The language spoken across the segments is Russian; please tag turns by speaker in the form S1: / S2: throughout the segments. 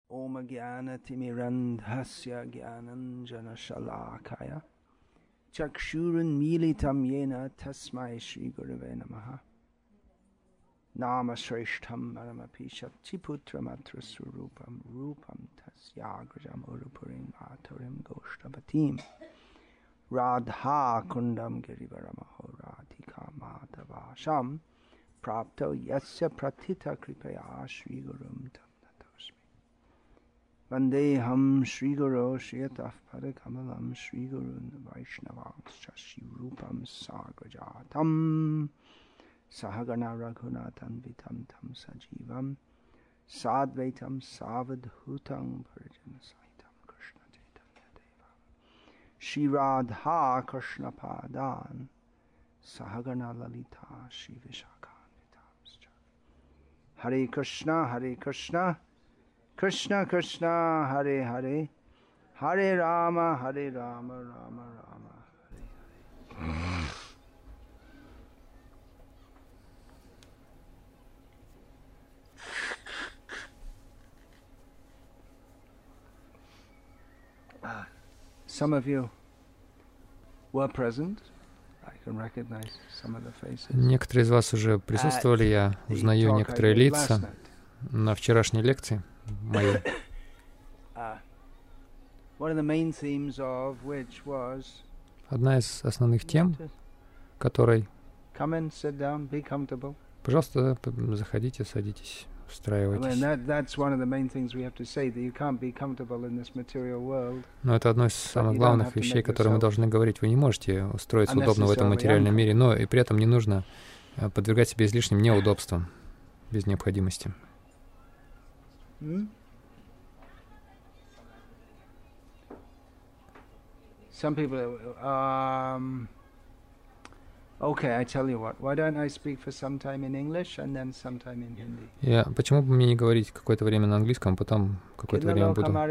S1: Om Jnana-timirandhasya Jnananjana-shalakaya Chakshurun militam yena tasmai Shri Gurave Namaha Nama Shreshtham Maramapi Shakti-putram atra surupam Rupam tasyagrajam urupurim aturim goshtavatim Radha kundam girivaramaho radhika madhavasham Prapto yasya pratita kripaya Shri Gurum tam natosmi Vandeham Shri Guru Shriyataf Padakamalam Shri Gurun Vaishnavanscha Shri Rupam Sagrajatam Sahagana Raghunathan Vitam Tam Sajivam Sadvaitam Savadhutam Parijana Sahitam Krishna Chaitanya Devam Shri Radha Krishna Padan Sahagana Lalita Shri Vishakhan Vitamscha Hare Krishna Hare Krishna Krishna Krishna Hare Hare Hare Rama Hare Rama Rama Rama Hare Hare. Some of you were present. I can recognize some of the faces.
S2: Некоторые из вас уже присутствовали, я узнаю некоторые лица на вчерашней лекции моей. Одна из основных тем, которой... Пожалуйста, заходите, садитесь, устраивайтесь. Но это одно из самых главных вещей, которые мы должны говорить. Вы не можете устроиться удобно в этом материальном мире, но и при этом не нужно подвергать себя излишним неудобствам без необходимости.
S1: Some people, okay, I tell you what. Why don't I speak for some time in English and then some time in Hindi?
S2: Почему бы мне не говорить какое-то время на английском, потом какое-то время буду на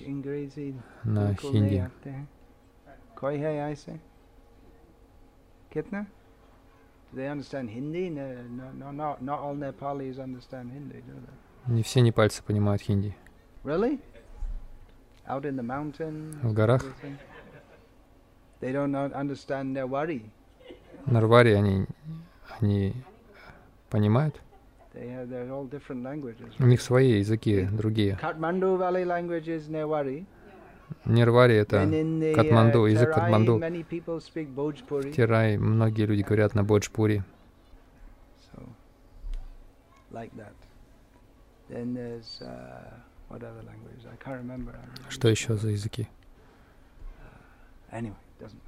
S2: хинди?
S1: Koi hai aise? Kitna? Do they understand Hindi? No, not all Nepalis understand Hindi, do they?
S2: Не все непальцы понимают хинди.
S1: Really? Out in the mountains?
S2: В горах?
S1: They don't understand Newari.
S2: Нарвари они понимают?
S1: They're all different languages.
S2: У них свои языки, другие.
S1: Kathmandu Valley language is Newari.
S2: Нервари — это Катманду, язык Катманду.
S1: Many people speak Bhojpuri.
S2: В Терай многие люди говорят на Бходжпури.
S1: So, like that. Then there's what other languages? I can't remember.
S2: Что еще за языки?
S1: Anyway, doesn't.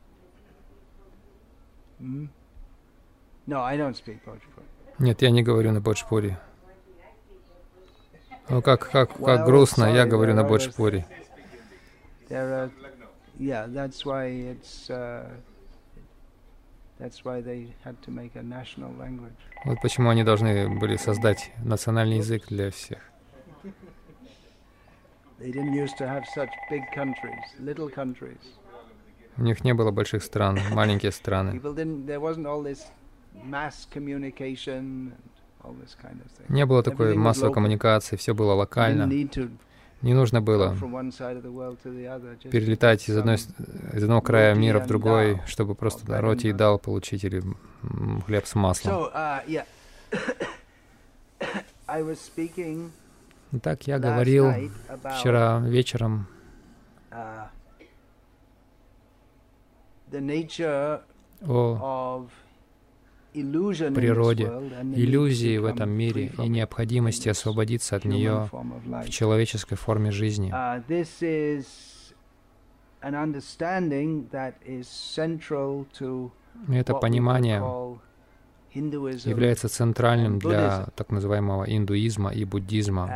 S1: No, I don't speak Bhojpuri.
S2: Нет, я не говорю на Бходжпури. Ну как грустно, я говорю на Бходжпури.
S1: Yeah, that's why they had to make a national language.
S2: Вот почему они должны были создать национальный язык для всех.
S1: They didn't used to have such big countries, little countries.
S2: У них не было больших стран, маленькие страны. Не было такой массовой коммуникации, все было локально. Не нужно было перелетать из одного края мира в другой, чтобы просто роти и дал получить или хлеб с маслом. Итак, я говорил вчера вечером о природе иллюзии в этом мире и необходимости освободиться от нее в человеческой форме жизни. Это понимание является центральным для так называемого индуизма и буддизма.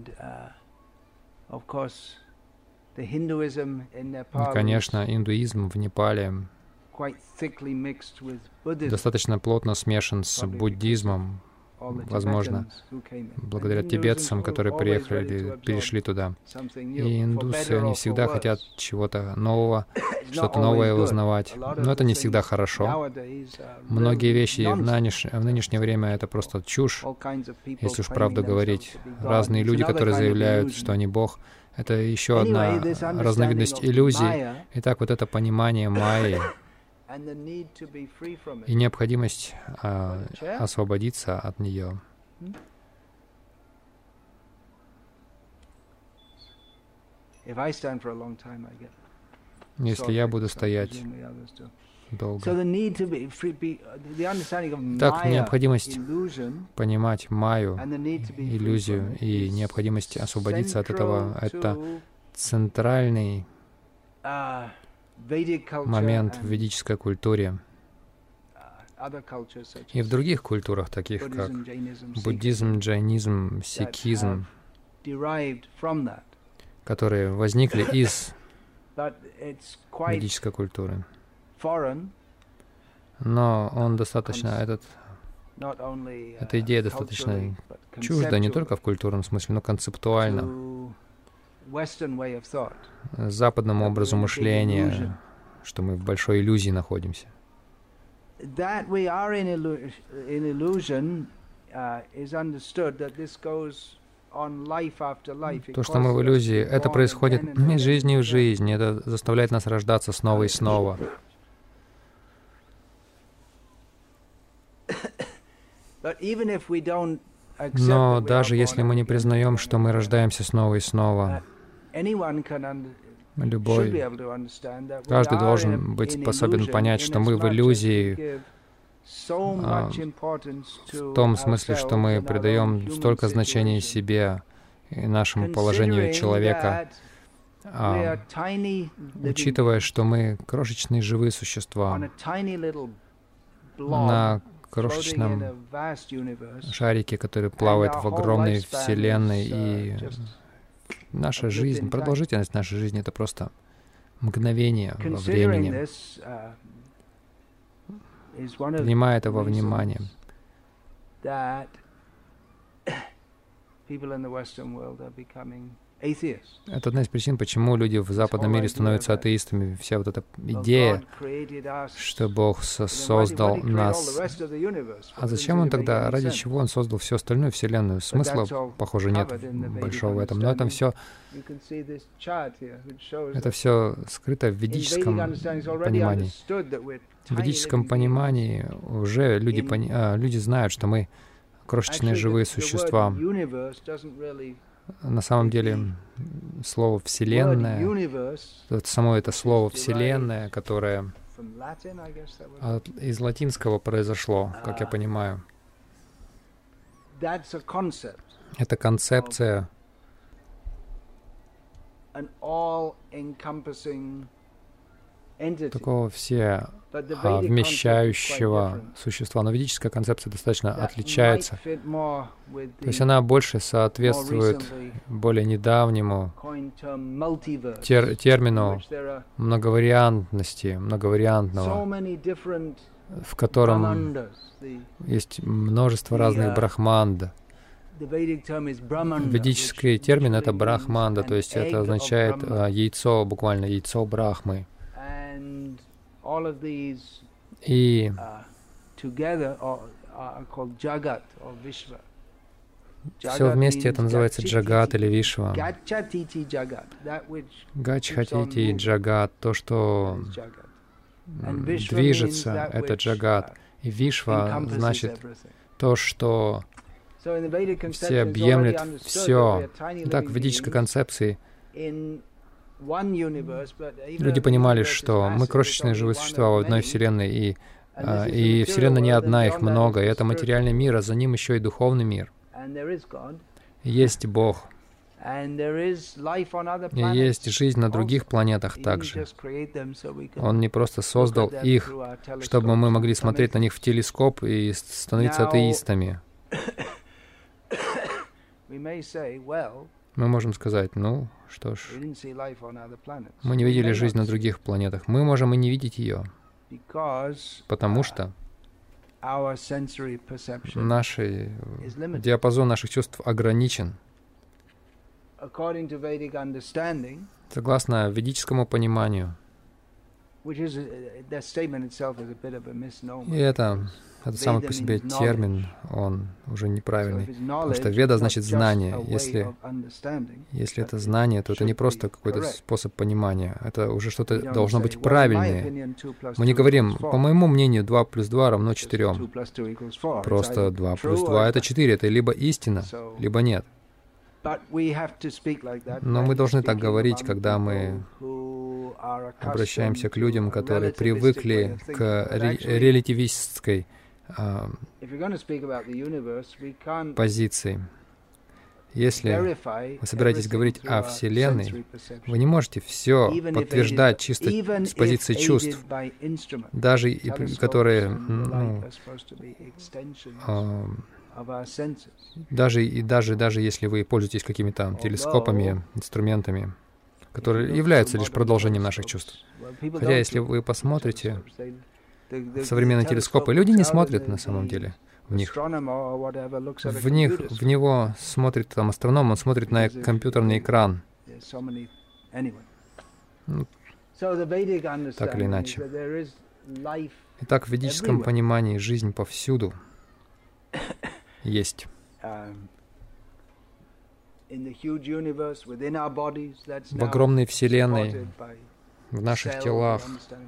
S2: И, конечно, индуизм в Непале достаточно плотно смешан с буддизмом, возможно, благодаря тибетцам, которые приехали, перешли туда. И индусы, они всегда хотят чего-то нового, что-то новое узнавать. Но это не всегда хорошо. Многие вещи в нынешнее время — это просто чушь, если уж правду говорить. Разные люди, которые заявляют, что они Бог, это еще одна разновидность иллюзий. Итак, вот это понимание майи и необходимость освободиться от нее. Если я буду стоять долго. Так, необходимость понимать майю, иллюзию, и необходимость освободиться от этого — это центральный момент в ведической культуре и в других культурах, таких как буддизм, джайнизм, сикхизм, которые возникли из ведической культуры. Но он достаточно, эта идея достаточно чужда не только в культурном смысле, но концептуально западному образу мышления, что мы в большой иллюзии находимся. То, что мы в иллюзии, это происходит из жизни в жизнь, это заставляет нас рождаться снова и снова. Но даже если мы не признаем, что мы рождаемся снова и снова, каждый должен быть способен понять, что мы в иллюзии, в том смысле, что мы придаем столько значения себе и нашему положению человека, учитывая, что мы крошечные живые существа на крошечном шарике, который плавает в огромной вселенной, и наша жизнь, продолжительность нашей жизни — это просто мгновение во времени. Принимая это во внимание, это одна из причин, почему люди в западном мире становятся атеистами. Вся вот эта идея, что Бог создал нас. А зачем Он тогда, ради чего Он создал всю остальную Вселенную? Смысла, похоже, нет большого в этом. Но это все скрыто в ведическом понимании. В ведическом понимании уже люди знают, что мы крошечные живые существа. На самом деле, слово «вселенная», само это слово «вселенная», которое из латинского произошло, как я понимаю. Это концепция такого вмещающего существа. Но ведическая концепция достаточно отличается. То есть она больше соответствует более недавнему термину многовариантного, в котором есть множество разных брахманд. Ведический термин — это брахманда, то есть это означает яйцо, буквально яйцо Брахмы. И все вместе это называется Джагат или Вишва. Гачхатити Джагат, то, что движется, это Джагат. И Вишва значит то, что всеобъемлет все. Так, в ведической концепции люди понимали, что мы крошечные живые существа в одной Вселенной, и Вселенная не одна, их много, и это материальный мир, а за ним еще и духовный мир. Есть Бог. И есть жизнь на других планетах также. Он не просто создал их, чтобы мы могли смотреть на них в телескоп и становиться атеистами. Мы можем сказать, ну, что ж, мы не видели жизнь на других планетах. Мы можем и не видеть ее, потому что диапазон наших чувств ограничен. Согласно ведическому пониманию. И это сам по себе термин, он уже неправильный. Потому что веда значит знание. Если это знание, то это не просто какой-то способ понимания. Это уже что-то должно быть правильное. Мы не говорим, по моему мнению, 2 плюс 2 равно 4. Просто 2 плюс 2 — это 4. Это либо истина, либо нет. Но мы должны так говорить, когда мы обращаемся к людям, которые привыкли к релятивистской позиции. Если вы собираетесь говорить о Вселенной, вы не можете все подтверждать чисто с позиции чувств, даже которые, даже если вы пользуетесь какими-то телескопами, инструментами, которые являются лишь продолжением наших чувств. Хотя, если вы посмотрите в современные телескопы, люди не смотрят на самом деле в них. В него смотрит там астроном, он смотрит на компьютерный экран. Так или иначе. Итак, в ведическом понимании жизнь повсюду есть. В огромной Вселенной, в наших телах,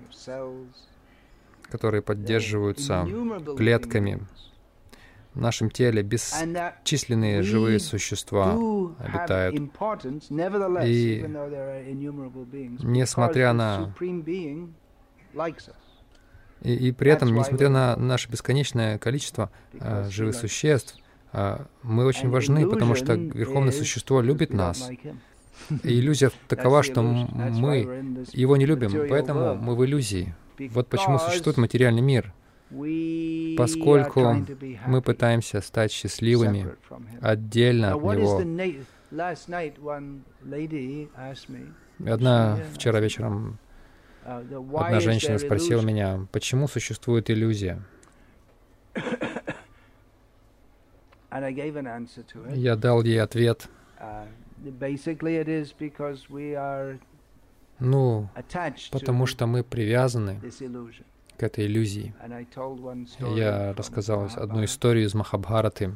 S2: которые поддерживаются клетками, в нашем теле бесчисленные живые существа обитают. И несмотря на... И при этом, несмотря на наше бесконечное количество живых существ, мы очень важны, потому что Верховное Существо любит нас. И иллюзия такова, что мы его не любим, поэтому мы в иллюзии. Вот почему существует материальный мир. Поскольку мы пытаемся стать счастливыми отдельно от него. Вчера вечером одна женщина спросила меня, почему существует иллюзия. Я дал ей ответ. Потому что мы привязаны к этой иллюзии. Я рассказал одну историю из Махабхараты.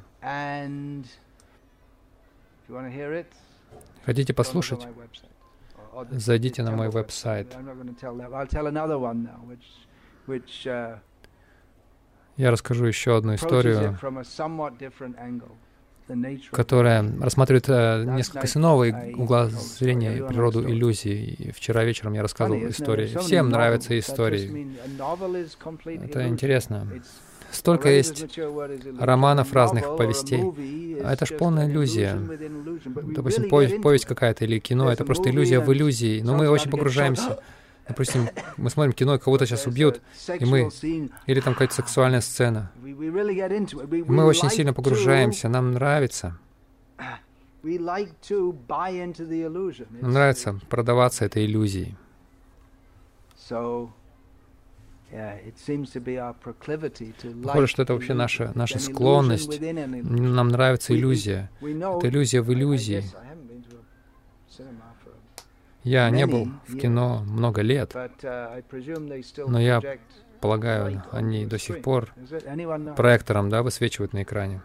S2: Хотите послушать? Зайдите на мой веб-сайт. Я расскажу еще одну историю, которая рассматривает несколько с иного угла зрения природу иллюзий. Вчера вечером я рассказывал истории. Всем нравятся истории. Это интересно. Столько есть романов, разных повестей. А это ж полная иллюзия. Допустим, повесть какая-то или кино — это просто иллюзия в иллюзии. Но мы очень погружаемся. Допустим, мы смотрим кино, кого-то сейчас убьют, или там какая-то сексуальная сцена. Мы очень сильно погружаемся, нам нравится. Нам нравится продаваться этой иллюзией. Похоже, что это вообще наша склонность. Нам нравится иллюзия. Это иллюзия в иллюзии. Я не был в кино много лет, но я полагаю, они до сих пор проектором, высвечивают на экране.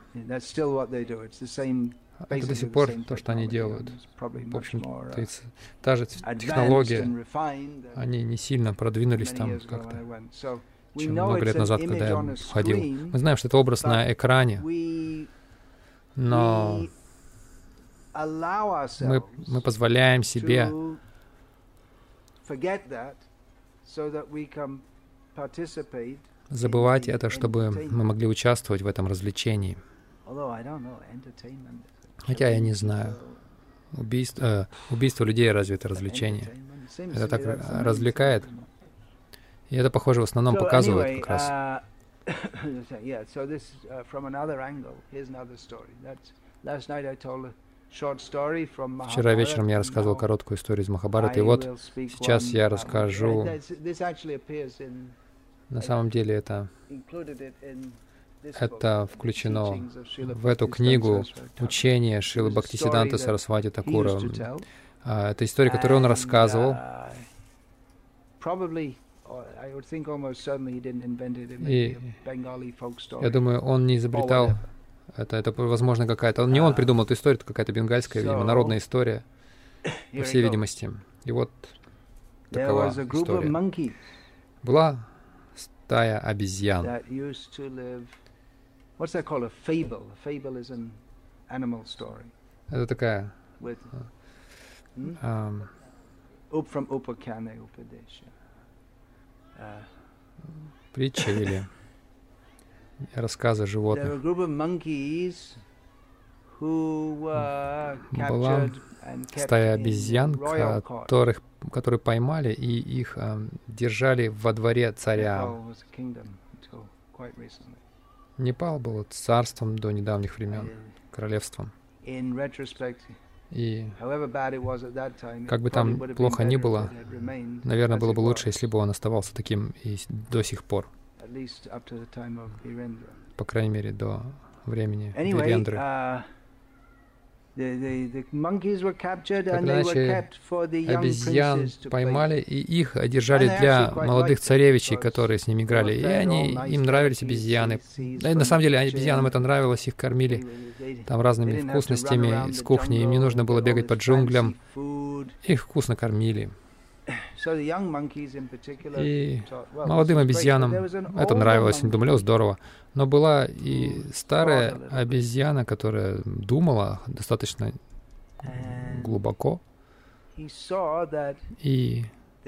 S2: Это до сих пор то, что они делают. В общем, та же технология, они не сильно продвинулись там как-то, чем много лет назад, когда я ходил. Мы знаем, что это образ на экране, но мы позволяем себе забывать это, чтобы мы могли участвовать в этом развлечении. Хотя я не знаю, убийство людей разве это развлечение? Это так развлекает. И это, похоже, в основном показывает как раз. Вчера вечером я рассказывал короткую историю из Махабхараты, и вот сейчас я расскажу На самом деле это включено в эту книгу учение Шрилы Бхактисиддханты Сарасвати Такура. Это история, которую он рассказывал. И я думаю, он не изобретал это возможно, какая-то... Не он придумал эту историю, это какая-то бенгальская, видимо, народная история, по всей видимости. И вот такова история. Была стая обезьян. Это такая... притча или рассказы животных. Была стая обезьян, которые поймали и их держали во дворе царя. Непал был царством до недавних времен, королевством. И как бы там плохо ни было, наверное, было бы лучше, если бы он оставался таким и до сих пор. По крайней мере, до времени Вирендры. Так иначе, обезьян поймали, и их держали для молодых царевичей, которые с ними играли. И им нравились обезьяны. И на самом деле, обезьянам это нравилось, их кормили там разными вкусностями с кухни. Им не нужно было бегать по джунглям. Их вкусно кормили. И молодым обезьянам это нравилось, они думали, здорово. Но была и старая обезьяна, которая думала достаточно глубоко. И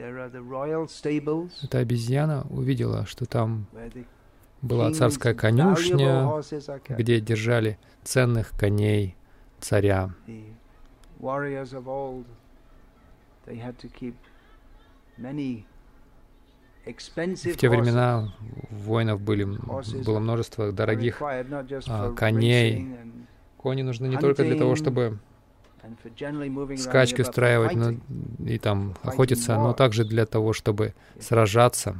S2: эта обезьяна увидела, что там была царская конюшня, где держали ценных коней царя. В те времена воинов было множество дорогих коней. Кони нужны не только для того, чтобы скачки устраивать и там охотиться, но также для того, чтобы сражаться.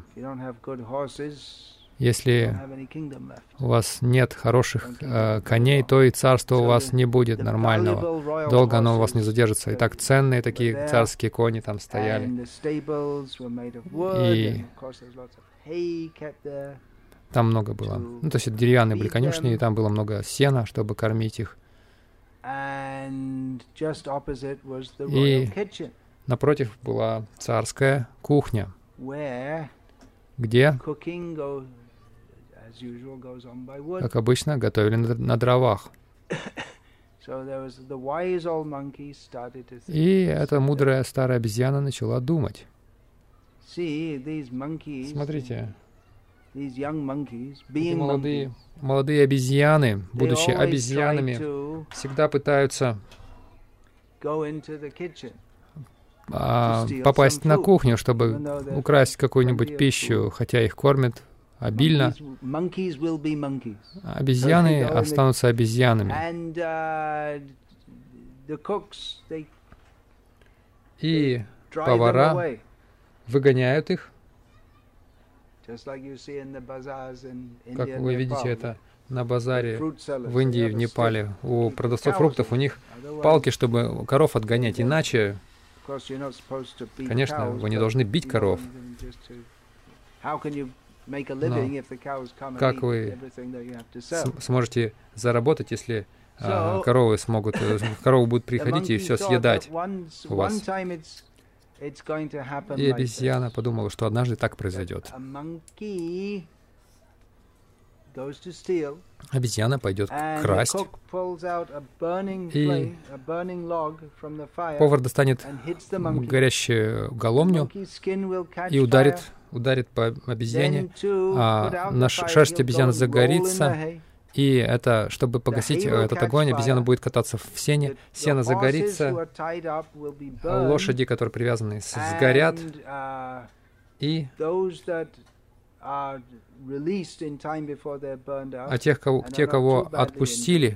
S2: Если у вас нет хороших коней, то и царства у вас не будет нормального. Долго оно у вас не задержится. И так ценные такие царские кони там стояли. И там много было. Ну, то есть деревянные были конюшни, и там было много сена, чтобы кормить их. И напротив была царская кухня, где, как обычно, готовили на дровах. И эта мудрая старая обезьяна начала думать. Смотрите, эти молодые обезьяны, будучи обезьянами, всегда пытаются попасть на кухню, чтобы украсть какую-нибудь пищу, хотя их кормят обильно. Обезьяны останутся обезьянами. И повара выгоняют их, как вы видите это на базаре в Индии, в Непале. У продавцов фруктов у них палки, чтобы коров отгонять. Иначе, конечно, вы не должны бить коров. Но как вы сможете заработать, если коровы будут приходить и все съедать у вас? И обезьяна подумала, что однажды так произойдет. Обезьяна пойдет красть, и повар достанет горящую головню и ударит по обезьяне, а шерсть обезьяны загорится, и это, чтобы погасить этот огонь, обезьяна будет кататься в сене, сено загорится, лошади, которые привязаны, сгорят, и те, кого отпустили,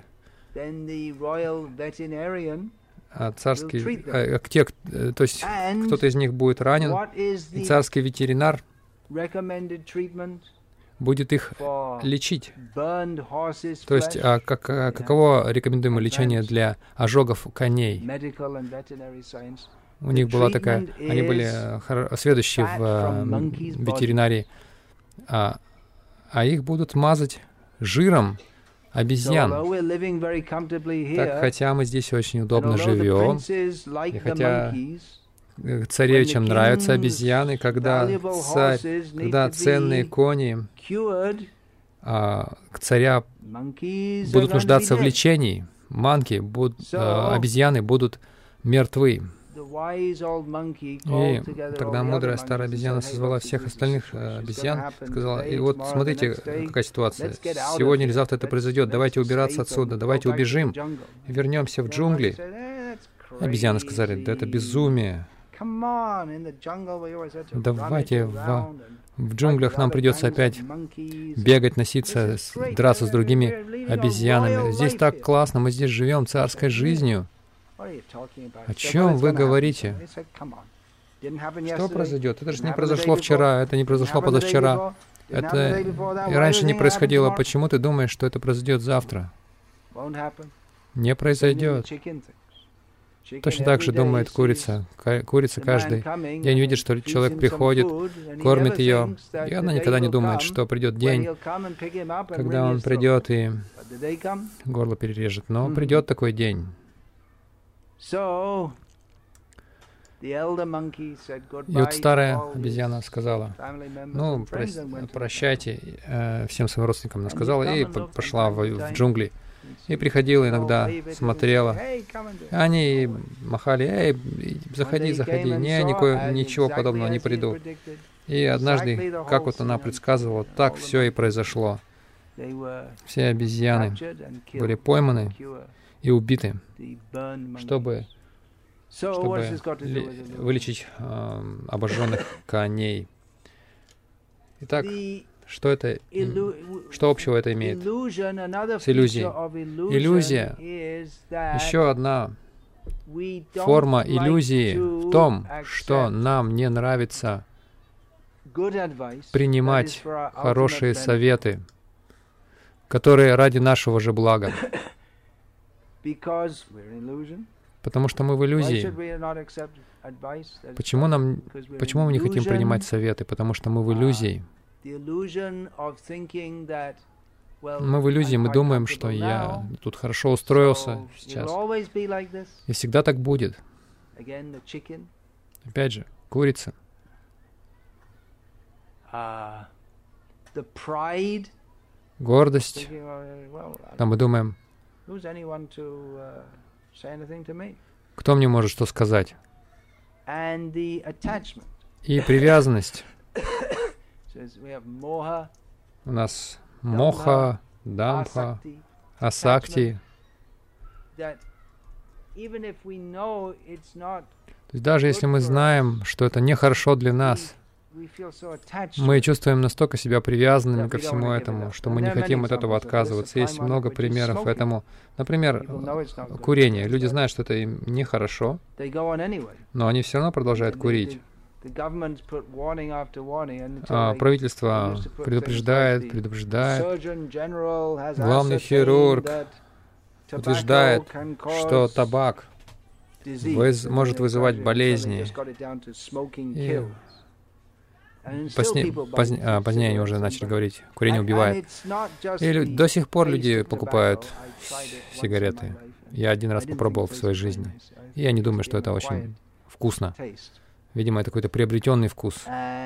S2: то есть кто-то из них будет ранен, и царский ветеринар будет их лечить. То есть, каково рекомендуемое лечение для ожогов коней? У них была такая, они были сведущие в ветеринарии, а их будут мазать жиром обезьян. Так, хотя мы здесь очень удобно живем, и хотя царевичам нравятся обезьяны, когда ценные кони царя будут нуждаться в лечении, обезьяны будут мертвы. И тогда мудрая старая обезьяна созвала всех остальных обезьян, сказала: и вот смотрите, какая ситуация. Сегодня или завтра это произойдет. Давайте убираться отсюда, давайте убежим и вернемся в джунгли. Обезьяны сказали: да это безумие. Давайте в джунглях нам придется опять бегать, носиться, драться с другими обезьянами. Здесь так классно, мы здесь живем царской жизнью. О чем вы говорите? Что произойдет? Это же не произошло вчера, это не произошло позавчера. Это и раньше не происходило. Почему ты думаешь, что это произойдет завтра? Не произойдет. Точно так же думает курица. Курица каждый день видит, что человек приходит, кормит ее, и она никогда не думает, что придет день, когда он придет и горло перережет. Но придет такой день. И вот старая обезьяна сказала: ну, прощайте всем своим родственникам. Она сказала и пошла в джунгли. И приходила иногда, смотрела. Они махали: эй, заходи, заходи. Ничего подобного, не приду. И однажды, как вот она предсказывала, так все и произошло. Все обезьяны были пойманы и убиты, чтобы вылечить обожженных коней. Итак, что общего это имеет с иллюзией? Иллюзия, еще одна форма иллюзии в том, что нам не нравится принимать хорошие советы, которые ради нашего же блага. Потому что мы в иллюзии. Почему мы не хотим принимать советы? Потому что мы в иллюзии. Мы в иллюзии, мы думаем, что я тут хорошо устроился сейчас. И всегда так будет. Опять же, курица. Гордость. Там мы думаем: кто мне может что сказать? И привязанность. У нас моха, дамха, асакти. То есть даже если мы знаем, что это нехорошо для нас, мы чувствуем настолько себя привязанными ко всему этому, что мы не хотим от этого отказываться. Есть много примеров этому. Например, курение. Люди знают, что это им нехорошо, но они все равно продолжают курить. Правительство предупреждает. Главный хирург утверждает, что табак может вызывать болезни. Позднее они уже начали говорить: курение убивает. И до сих пор люди покупают сигареты. Я один раз попробовал в своей жизни. И я не думаю, что это очень вкусно. Видимо, это какой-то приобретенный вкус.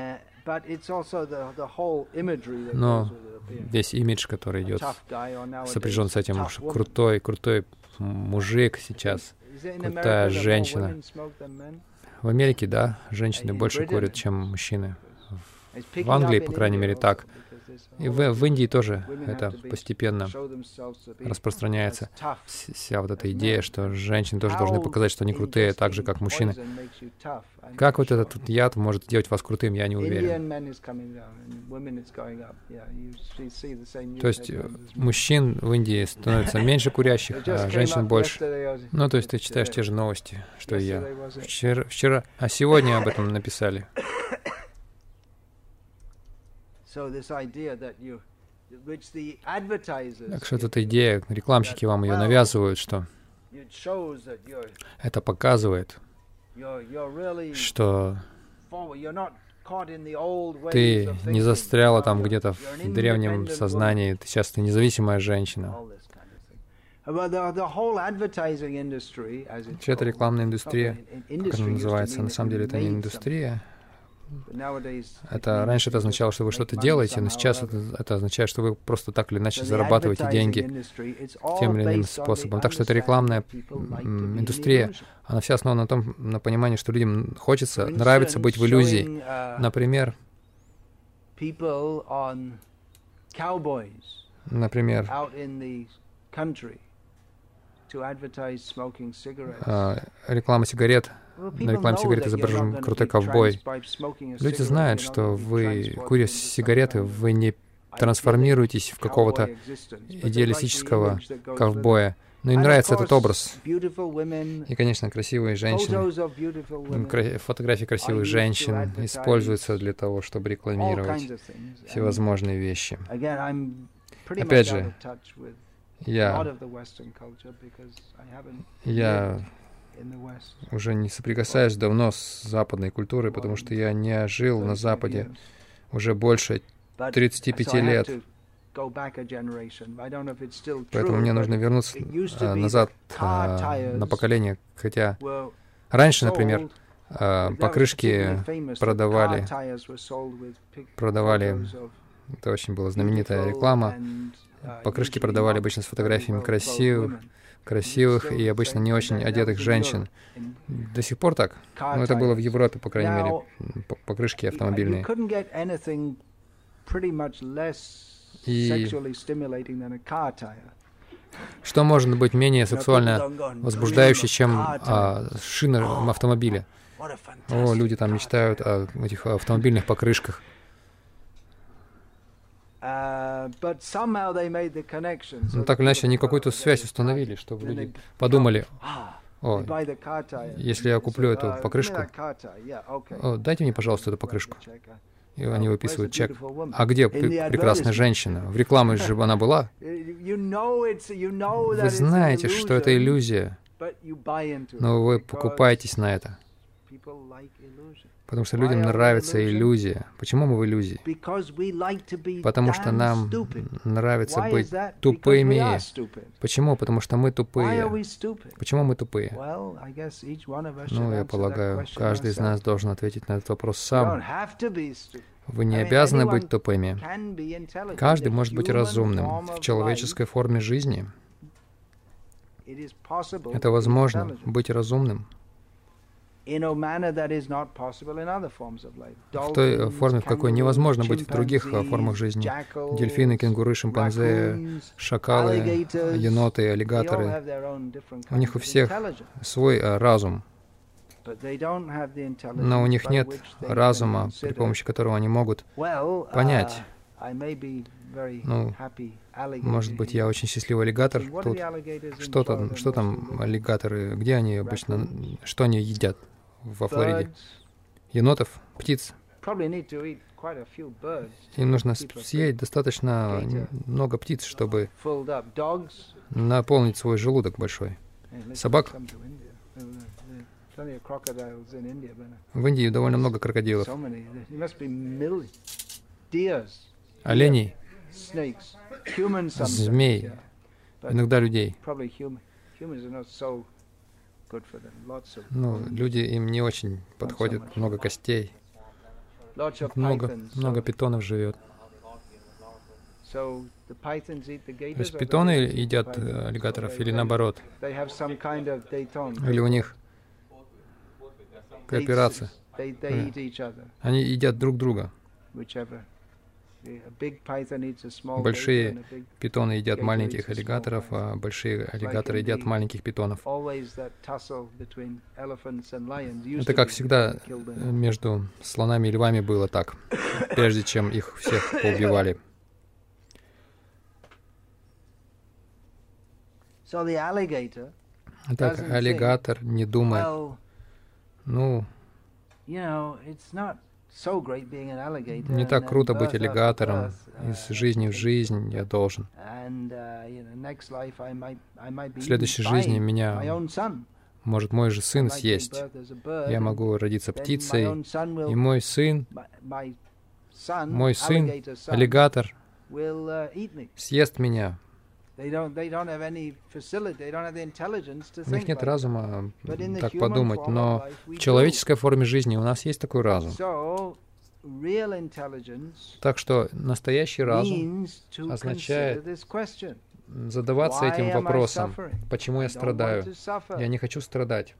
S2: Но весь имидж, который идет, сопряжен с этим, крутой мужик сейчас, крутая женщина. В Америке, да, женщины больше курят, чем мужчины. В Англии, по крайней мере, так. И в Индии тоже это постепенно распространяется. Вся вот эта идея, что женщины тоже должны показать, что они крутые, так же, как мужчины. Как вот этот яд может сделать вас крутым, я не уверен. То есть мужчин в Индии становится меньше курящих, а женщин больше. Ну, то есть ты читаешь те же новости, что и я. Вчера, а сегодня об этом написали. Так что эта идея, рекламщики вам ее навязывают, что это показывает, что ты не застряла там где-то в древнем сознании, сейчас ты независимая женщина. Вообще, это рекламная индустрия, как она называется, на самом деле это не индустрия. Раньше это означало, что вы что-то делаете, но сейчас это означает, что вы просто так или иначе зарабатываете деньги тем или иным способом. Так что это рекламная индустрия, она вся основана на понимании, что людям нравится быть в иллюзии. Например, реклама сигарет. На рекламе сигарет изображен крутой ковбой. Люди знают, что вы, куря сигареты, вы не трансформируетесь в какого-то идеалистического ковбоя. Но им нравится этот образ. И, конечно, красивые женщины, фотографии красивых женщин используются для того, чтобы рекламировать всевозможные вещи. Опять же, я уже не соприкасаюсь давно с западной культурой, потому что я не жил на Западе уже больше 35 лет. Поэтому мне нужно вернуться назад на поколение. Хотя раньше, например, покрышки продавали, это очень была знаменитая реклама, покрышки продавали обычно с фотографиями красивых и обычно не очень одетых женщин. До сих пор так. Но это было в Европе, по крайней мере, покрышки автомобильные. И что может быть менее сексуально возбуждающее, чем шины автомобиля? О, люди там мечтают о этих автомобильных покрышках. Но так или иначе, они какую-то связь установили, чтобы люди подумали: о, если я куплю эту покрышку, дайте мне, пожалуйста, эту покрышку. И они выписывают чек. А где прекрасная женщина? В рекламе же она была. Вы знаете, что это иллюзия, но вы покупаетесь на это. Потому что людям нравится иллюзия. Почему мы в иллюзии? Потому что нам нравится быть тупыми. Почему? Потому что мы тупые. Почему мы тупые? Ну, я полагаю, каждый из нас должен ответить на этот вопрос сам. Вы не обязаны быть тупыми. Каждый может быть разумным в человеческой форме жизни. Это возможно, быть разумным. В той форме, в какой невозможно быть в других формах жизни. Дельфины, кенгуры, шимпанзе, шакалы, еноты, аллигаторы. У них у всех свой разум. Но у них нет разума, при помощи которого они могут понять. Ну, может быть, я очень счастливый аллигатор тут. Что там аллигаторы? Где они обычно? Что они едят во Флориде? Енотов? Птиц? Им нужно съесть достаточно много птиц, чтобы наполнить свой желудок большой. Собак? В Индии довольно много крокодилов. Оленей, змей, иногда людей. Ну, люди им не очень подходят, много костей. Много питонов живет. То есть питоны едят аллигаторов или наоборот? Или у них кооперация? Они едят друг друга. Большие питоны едят маленьких аллигаторов, а большие аллигаторы едят маленьких питонов. Это, как всегда, между слонами и львами было так, прежде чем их всех поубивали. Так, аллигатор не думает, ну, Не так круто быть аллигатором. Из жизни в жизнь я должен. В следующей жизни меня может мой же сын съесть. Я могу родиться птицей, и мой сын, аллигатор, съест меня. У них нет разума так подумать, но в человеческой форме жизни у нас есть такой разум. Так что настоящий разум означает задаваться этим вопросом, почему я страдаю. Я не хочу страдать.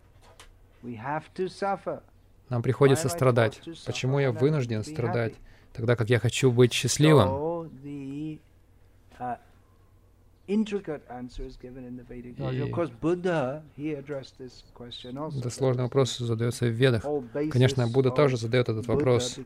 S2: Нам приходится страдать. Почему я вынужден страдать, тогда как я хочу быть счастливым? Да, сложный вопрос задается в Ведах. Конечно, Будда тоже задает этот вопрос.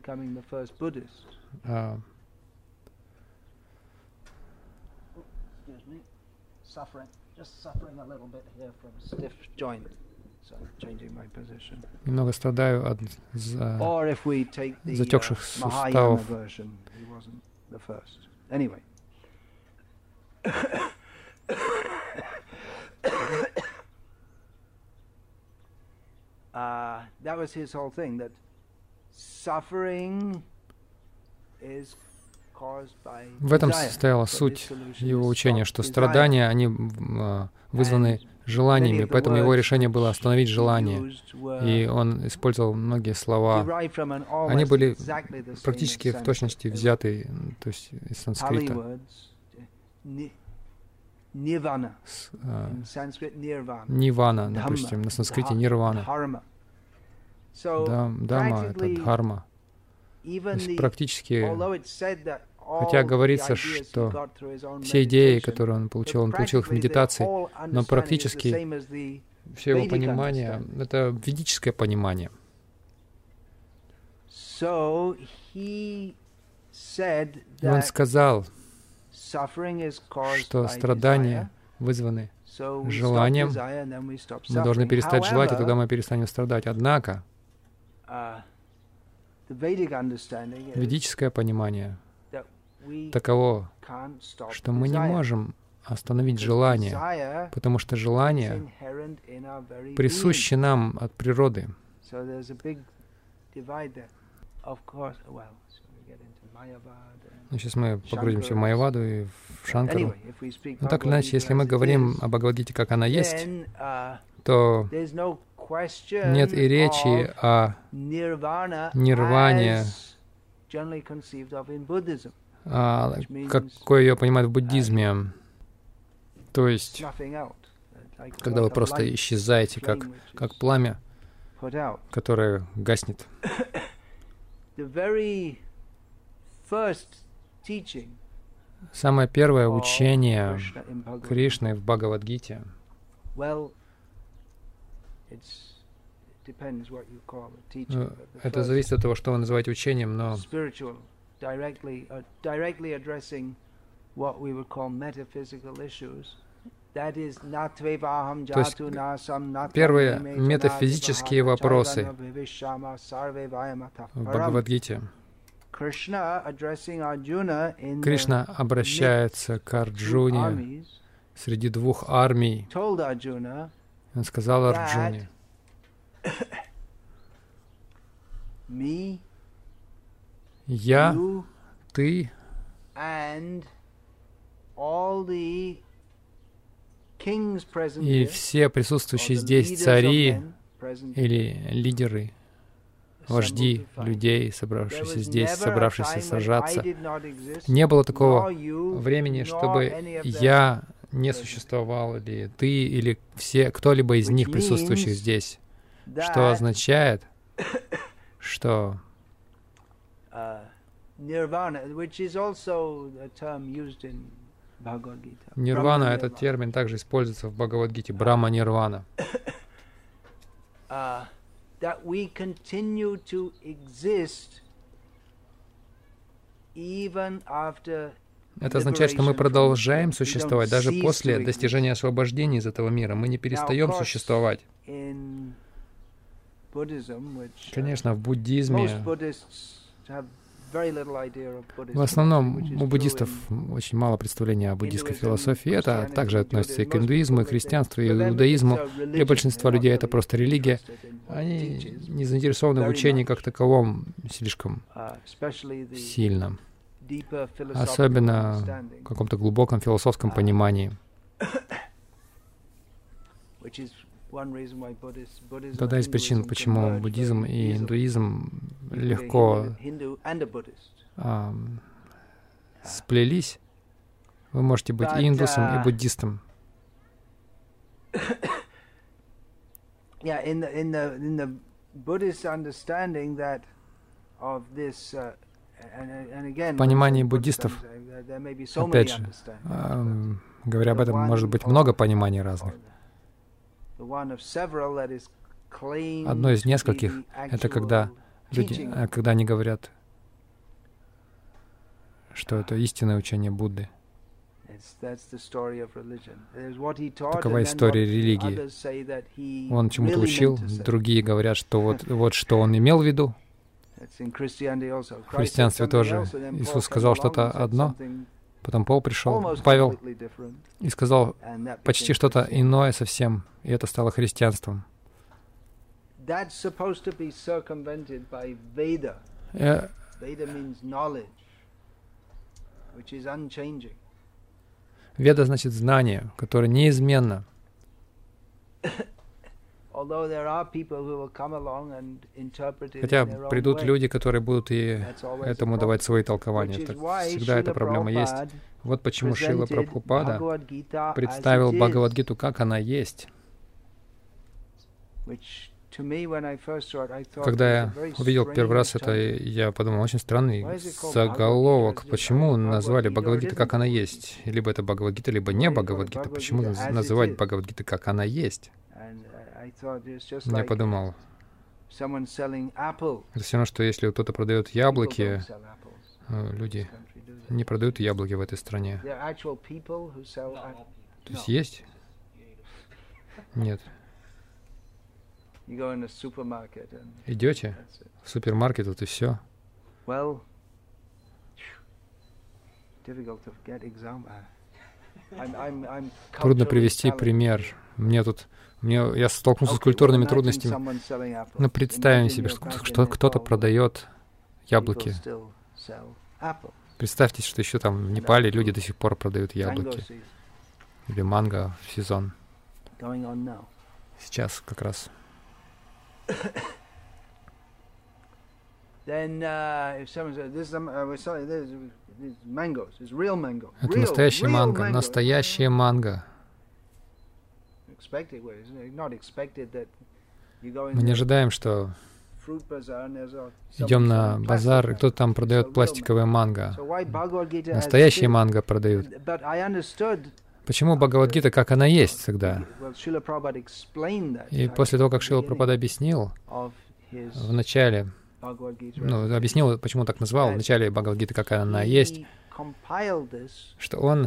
S2: Немного страдаю от затекших суставов.
S1: That was his whole thing, that suffering is caused by desire.
S2: В этом состояла суть его учения, что страдания, они вызваны желаниями, поэтому его решение было остановить желание. И он использовал многие слова. Они были практически в точности взяты, то есть из санскрита. Нирвана, допустим, на санскрите нирвана. Дама — это дхарма. То есть практически, хотя говорится, что все идеи, которые он получил их в медитации, но практически все его понимание — это ведическое понимание. И он сказал, что страдания вызваны желанием, мы должны перестать желать, и тогда мы перестанем страдать. Однако, ведическое понимание таково, что мы не можем остановить желание, потому что желание присуще нам от природы. Ну, сейчас мы погрузимся в Майяваду и в Шанкару. Но так или иначе, если мы говорим о Бхагавад-гите, как она есть, то нет и речи о нирване, какой ее понимают в буддизме. То есть, когда вы просто исчезаете, как пламя, которое гаснет. Самое первое учение Кришны в Бхагавад-гите, это зависит от того, что вы называете учением, но то есть первые метафизические вопросы в Бхагавад-гите. Кришна обращается к Арджуне среди двух армий. Он сказал Арджуне: «Я, ты и все присутствующие здесь цари или лидеры, вожди людей, собравшиеся здесь, собравшиеся сражаться. Не было такого времени, чтобы я не существовал, или ты, или все, кто-либо из них, присутствующих здесь. Что означает, что нирвана — этот термин также используется в Бхагавад-гите, Брахма-нирвана. Это означает, что мы продолжаем существовать даже после достижения освобождения из этого мира. Мы не перестаем существовать. Конечно, в буддизме, в основном у буддистов очень мало представления о буддийской философии. Это также относится и к индуизму, и к христианству, и к иудаизму. Для большинства людей это просто религия. Они не заинтересованы в учении как таковом слишком сильно, особенно в каком-то глубоком философском понимании. Это одна из причин, почему буддизм и индуизм легко сплелись. Вы можете быть и индусом, и буддистом. В понимании буддистов, опять же, говоря об этом, может быть много пониманий разных. Одно из нескольких — это когда они говорят, что это истинное учение Будды. Такова история религии. Он чему-то учил, другие говорят, что вот что он имел в виду. В христианстве тоже Иисус сказал что-то одно, потом Павел, и сказал почти что-то иное совсем, и это стало христианством. Веда значит знание, которое неизменно. Хотя придут люди, которые будут и этому давать свои толкования. Так всегда эта проблема есть. Вот почему Шрила Прабхупада представил Бхагавад-гиту, как она есть. Когда я увидел первый раз это, я подумал, очень странный заголовок. Почему назвали Бхагавад-гиту, как она есть? Либо это Бхагавад-гита, либо не Бхагавад-гита. Почему называть Бхагавад-гиту, как она есть? Я подумал, это все равно, что если кто-то продает яблоки, люди не продают яблоки в этой стране. То есть есть? Нет. Идете в супермаркет, вот и все. Трудно привести пример. Я столкнулся с культурными трудностями. Но представим себе, что кто-то продает яблоки. Представьте, что еще там в Непале люди до сих пор продают яблоки. Или манго в сезон. Сейчас как раз. Это настоящая манго. Настоящая манго. Мы не ожидаем, что идем на базар, и кто-то там продает пластиковое манго. Настоящие манго продают. Почему Бхагавад-гита, как она есть тогда? И после того, как Шрила Прабхупада объяснил в начале, объяснил, почему так назвал, в начале Бхагавад-гиты, как она есть, что он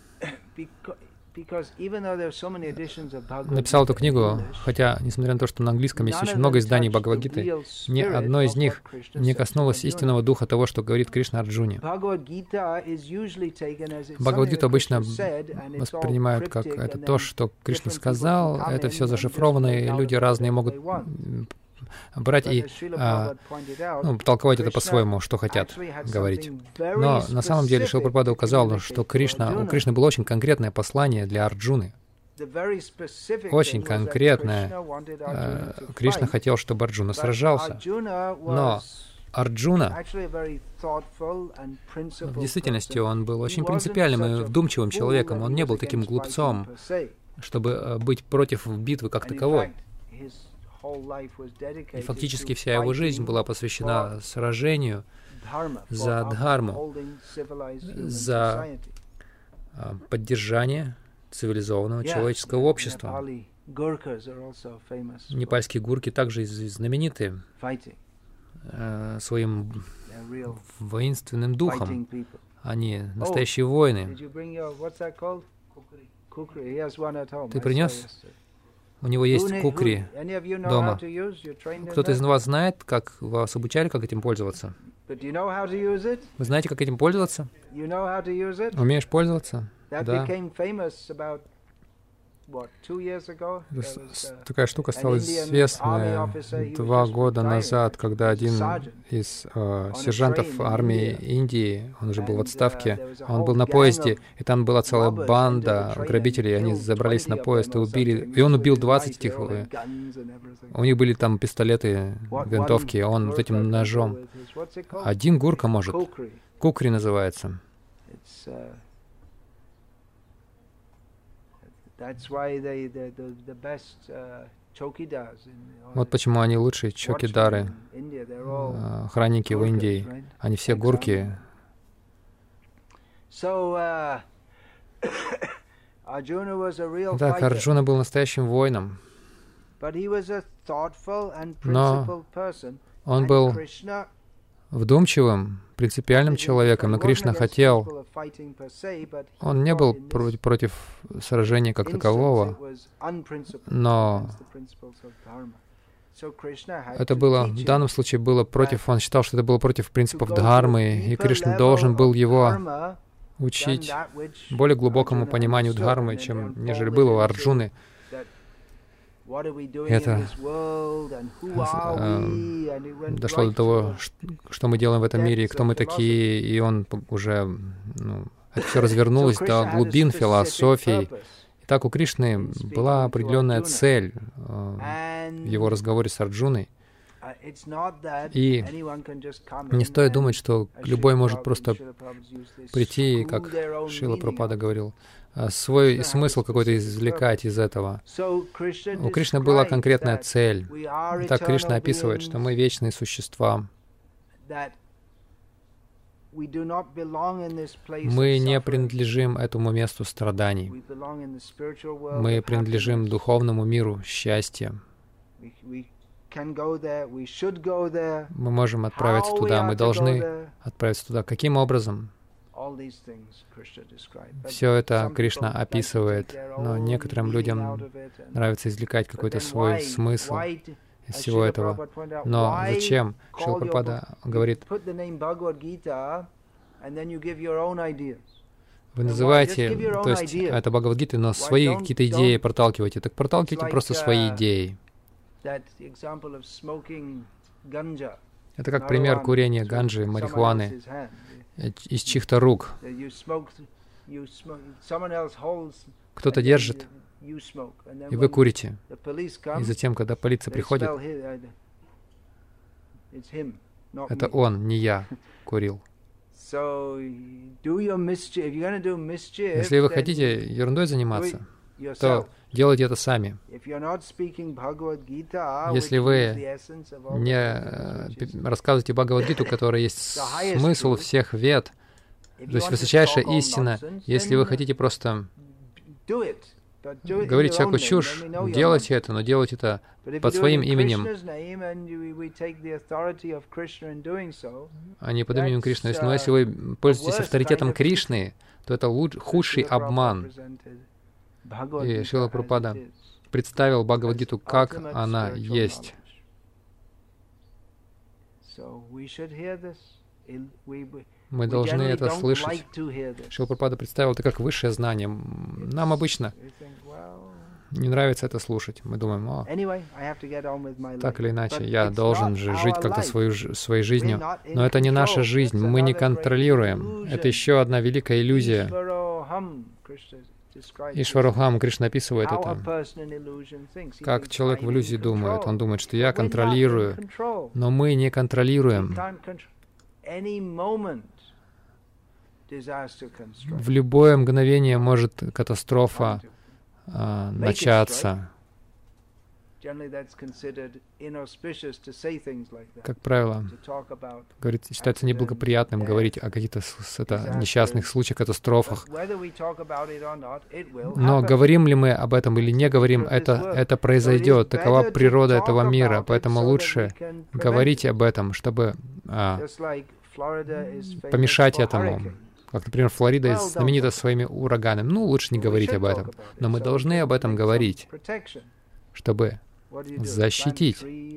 S2: написал эту книгу, хотя, несмотря на то, что на английском есть очень много изданий Бхагавад-гиты, ни одно из них не коснулось истинного духа того, что говорит Кришна Арджуне. Бхагавад-гиту обычно воспринимают как это то, что Кришна сказал, это все зашифровано, и люди разные могут брать и толковать это по-своему, что хотят говорить. Но на самом деле Шрила Прабхупада указал, что у Кришны было очень конкретное послание для Арджуны. Очень конкретное. Кришна хотел, чтобы Арджуна сражался. Но Арджуна, в действительности, он был очень принципиальным и вдумчивым человеком. Он не был таким глупцом, чтобы быть против битвы как таковой. И фактически вся его жизнь была посвящена сражению за дхарму, за поддержание цивилизованного человеческого общества. Непальские гурки также знамениты своим воинственным духом. Они настоящие воины. Ты принес? У него есть кукри дома. Кто-то из вас знает, как вас обучали, как этим пользоваться? Вы знаете, как этим пользоваться? Умеешь пользоваться? Да. Такая штука стала известна 2 года назад, когда один из сержантов армии Индии, он уже был в отставке, он был на поезде, и там была целая банда грабителей, они забрались на поезд и убили, и он убил 20 этих, у них были там пистолеты, винтовки, он вот этим ножом. Один гурка может. Кукри называется. Вот почему они лучшие чокидары, охранники в Индии. Они все гурки. Так, Арджуна был настоящим воином. Но он был вдумчивым, принципиальным человеком, и Кришна хотел, он не был против сражения как такового, но это было, в данном случае было против, он считал, что это было против принципов Дхармы, и Кришна должен был его учить более глубокому пониманию Дхармы, нежели было у Арджуны. Это дошло до того, что мы делаем в этом мире, и кто мы такие, и он уже, это все развернулось до глубин философии. И так у Кришны была определенная цель в его разговоре с Арджуной. И не стоит думать, что любой может просто прийти, как Шрила Прабхупада говорил, свой смысл какой-то извлекать из этого. У Кришны была конкретная цель. Так Кришна описывает, что мы вечные существа. Мы не принадлежим этому месту страданий. Мы принадлежим духовному миру счастья. Мы можем отправиться туда, мы должны отправиться туда. Каким образом? Все это Кришна описывает, но некоторым людям нравится извлекать какой-то свой смысл из всего этого. Но зачем? Шрила Прабхупада говорит, вы называете, то есть это Бхагавад-гита, но свои какие-то идеи проталкиваете. Так проталкивайте просто свои идеи. Это как пример курения ганджи, марихуаны из чьих-то рук. Кто-то держит, и вы курите. И затем, когда полиция приходит, это он, не я, курил. Если вы хотите ерундой заниматься, то делайте это сами. Если вы не рассказываете Бхагавад-гиту, которая есть смысл всех вед, то есть высочайшая истина, если вы хотите просто говорить всякую чушь, делайте это, но делайте это под своим именем, а не под именем Кришны. Но если вы пользуетесь авторитетом Кришны, то это худший обман. И Шрила Прабхупада представил Бхагавад-гиту, как она есть. Мы должны это слышать. Шрила Прабхупада представил это как высшее знание. Нам обычно не нравится это слушать. Мы думаем, так или иначе, я должен же жить как-то своей жизнью. Но это не наша жизнь, мы не контролируем. Это еще одна великая иллюзия. Ишварухам, Кришна описывает это. Как человек в иллюзии думает. Он думает, что я контролирую, но мы не контролируем. В любое мгновение может катастрофа начаться. Как правило, считается неблагоприятным говорить о каких-то несчастных случаях, катастрофах. Но говорим ли мы об этом или не говорим, это произойдет. Такова природа этого мира. Поэтому лучше говорить об этом, чтобы помешать этому. Как, например, Флорида знаменита своими ураганами. Лучше не говорить об этом. Но мы должны об этом говорить. чтобы защитить.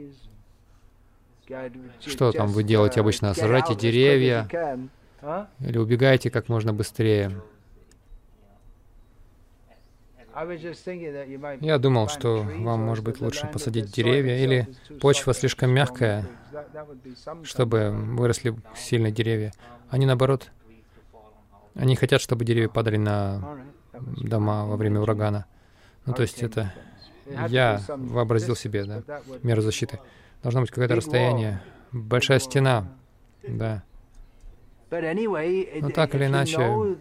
S2: Что там вы делаете обычно? Сажайте деревья или убегайте как можно быстрее. Я думал, что вам, может быть, лучше посадить деревья, или почва слишком мягкая, чтобы выросли сильные деревья. Они, наоборот, они хотят, чтобы деревья падали на дома во время урагана. Ну, то есть это я вообразил себе, да, меру защиты. Должно быть какое-то расстояние, большая стена, да. Но так или иначе,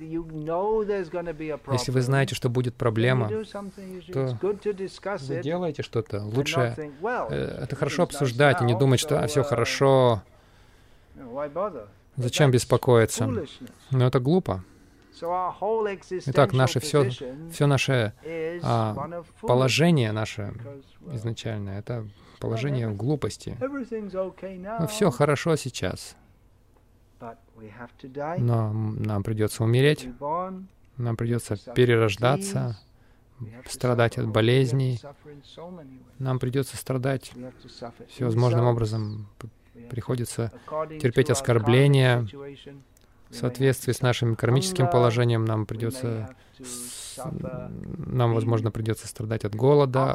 S2: если вы знаете, что будет проблема, то вы делаете что-то. Лучше это хорошо обсуждать и не думать, что все хорошо, зачем беспокоиться. Но это глупо. Итак, все наше положение наше изначальное, это положение в глупости. Но все хорошо сейчас. Но нам придется умереть, нам придется перерождаться, страдать от болезней, нам придется страдать всевозможным образом, приходится терпеть оскорбления. В соответствии с нашим кармическим положением нам, возможно, придется страдать от голода,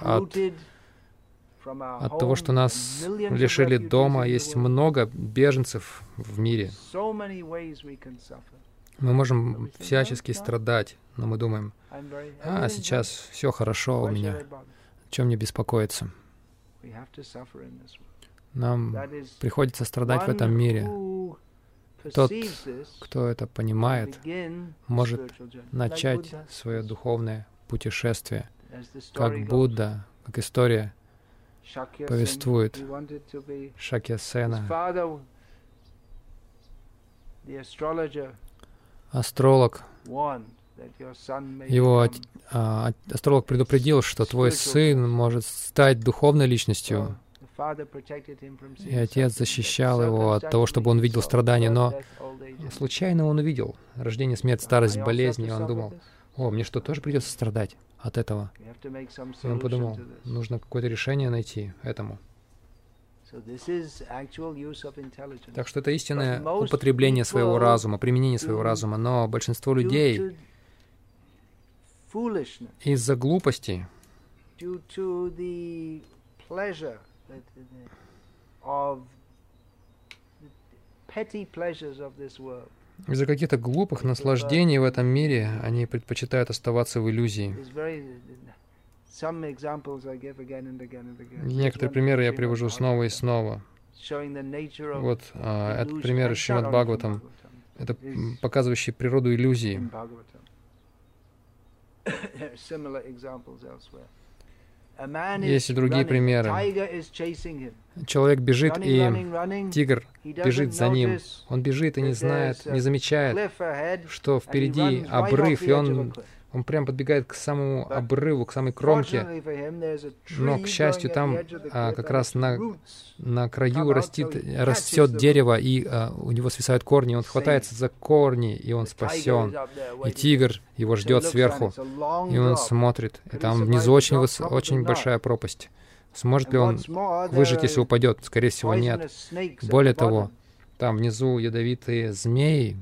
S2: от того, что нас лишили дома. Есть много беженцев в мире. Мы можем всячески страдать, но мы думаем, сейчас все хорошо у меня, о чем мне беспокоиться? Нам приходится страдать в этом мире. Тот, кто это понимает, может начать свое духовное путешествие, как Будда, как история повествует. Шакьясена, астролог, астролог предупредил, что твой сын может стать духовной личностью, и отец защищал его от того, чтобы он видел страдания, но случайно он увидел рождение, смерть, старость, болезни, и он думал, мне что, тоже придется страдать от этого? И он подумал, нужно какое-то решение найти этому. Так что это истинное употребление своего разума, применение своего разума, но большинство людей из-за глупости, из-за каких-то глупых наслаждений в этом мире, они предпочитают оставаться в иллюзии. Некоторые примеры я привожу снова и снова. Вот этот пример из Шримад Бхагаватам, это показывающий природу иллюзии. Есть и другие примеры. Человек бежит, и тигр бежит за ним. Он бежит и не знает, не замечает, что впереди обрыв, и он прям подбегает к самому обрыву, к самой кромке. Но, к счастью, там как раз на краю растет дерево, и у него свисают корни. Он хватается за корни, и он спасен. И тигр его ждет сверху, и он смотрит. И там внизу очень большая пропасть. Сможет ли он выжить, если упадет? Скорее всего, нет. Более того, там внизу ядовитые змеи.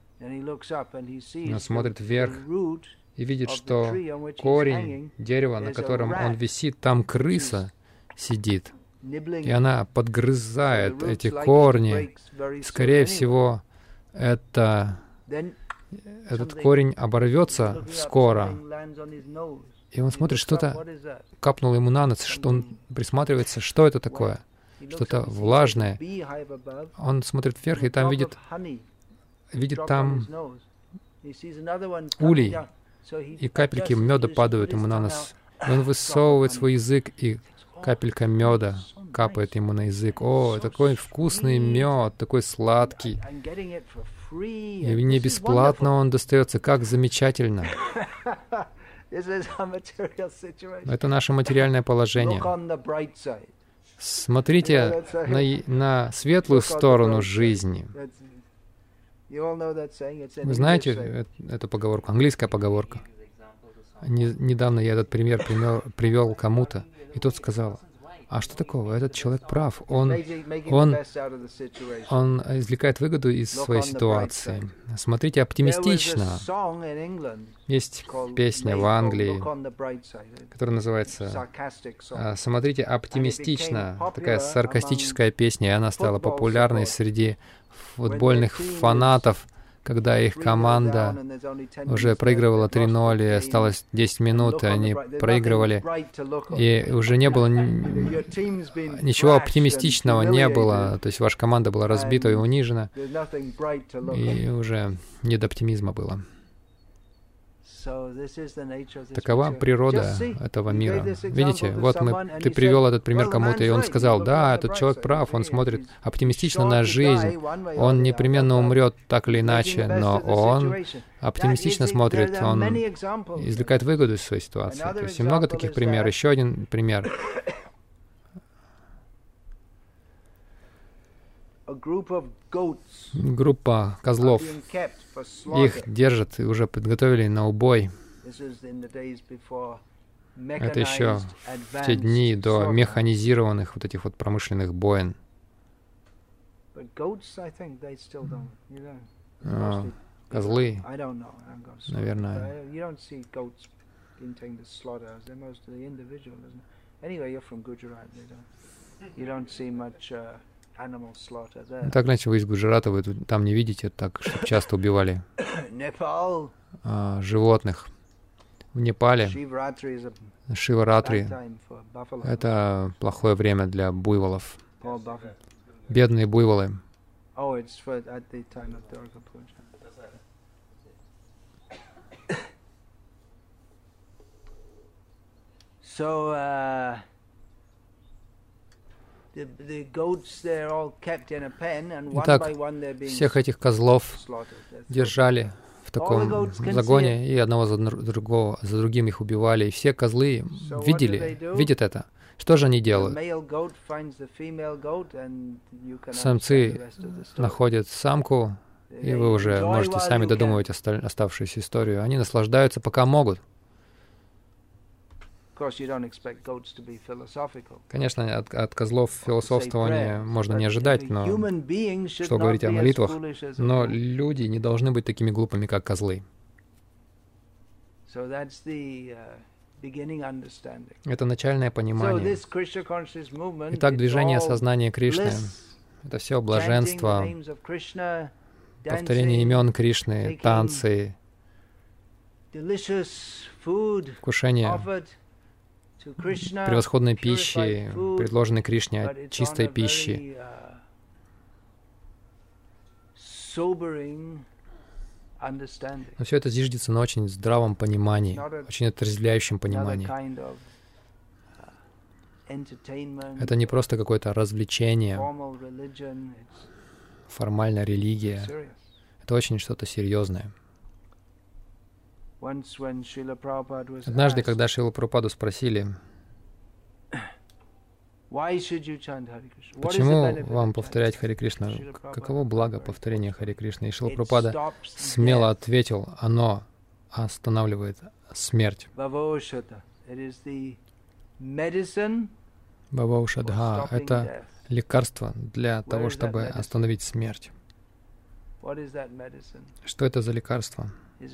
S2: Он смотрит вверх и видит, что корень дерева, на котором он висит, там крыса сидит. И она подгрызает эти корни. Скорее всего, этот корень оборвется скоро. И он смотрит, что-то капнуло ему на нос, что он присматривается, что это такое, что-то влажное. Он смотрит вверх, и там видит там улей, и капельки меда падают ему на нос. И он высовывает свой язык, и капелька меда капает ему на язык. О, такой вкусный мед, такой сладкий. И не бесплатно он достается, как замечательно. Это наше материальное положение. Смотрите на светлую сторону жизни. Вы знаете эту поговорку, английская поговорка? Недавно я этот пример привел кому-то. И тот сказал: а что такого? Этот человек прав. Он извлекает выгоду из своей ситуации. Смотрите оптимистично. Есть песня в Англии, которая называется «Смотрите оптимистично». Такая саркастическая песня, и она стала популярной среди футбольных фанатов, когда их команда уже проигрывала 3-0, и осталось 10 минут, и они проигрывали, и уже не было ничего оптимистичного, не было, то есть ваша команда была разбита и унижена, и уже не до оптимизма было. Такова природа этого мира. Видите, вот ты привел этот пример кому-то, и он сказал: да, этот человек прав, он смотрит оптимистично на жизнь, он непременно умрет так или иначе, но он оптимистично смотрит, он извлекает выгоду из своей ситуации. То есть и много таких примеров. Еще один пример. Группа козлов, их держат и уже подготовили на убой. Это еще в те дни до механизированных вот этих вот промышленных боин. Козлы, наверное. Так, иначе вы из Гуджарата, вы там не видите, так что часто убивали животных. В Непале Шиваратри — это плохое время для буйволов. Бедные буйволы. Итак, всех этих козлов держали в таком загоне, и одного за другим их убивали, и все козлы видят это. Что же они делают? Самцы находят самку, и вы уже можете сами додумывать оставшуюся историю. Они наслаждаются, пока могут. Конечно, от козлов философствования можно не ожидать, но что говорить о молитвах, но люди не должны быть такими глупыми, как козлы. Это начальное понимание. Итак, движение сознания Кришны — это все блаженство, повторение имен Кришны, танцы, вкушение превосходной пищи, предложенной Кришне, чистой пищи. Но все это зиждется на очень здравом понимании, очень отрезвляющем понимании. Это не просто какое-то развлечение, формальная религия. Это очень что-то серьезное. Однажды, когда Шрила Прабхупаду спросили, почему вам повторять Харе Кришна, каково благо повторения Харе Кришны, и Шрила Прабхупада смело ответил: оно останавливает смерть. Бхава-ошадха — это лекарство для того, чтобы остановить смерть. Что это за лекарство?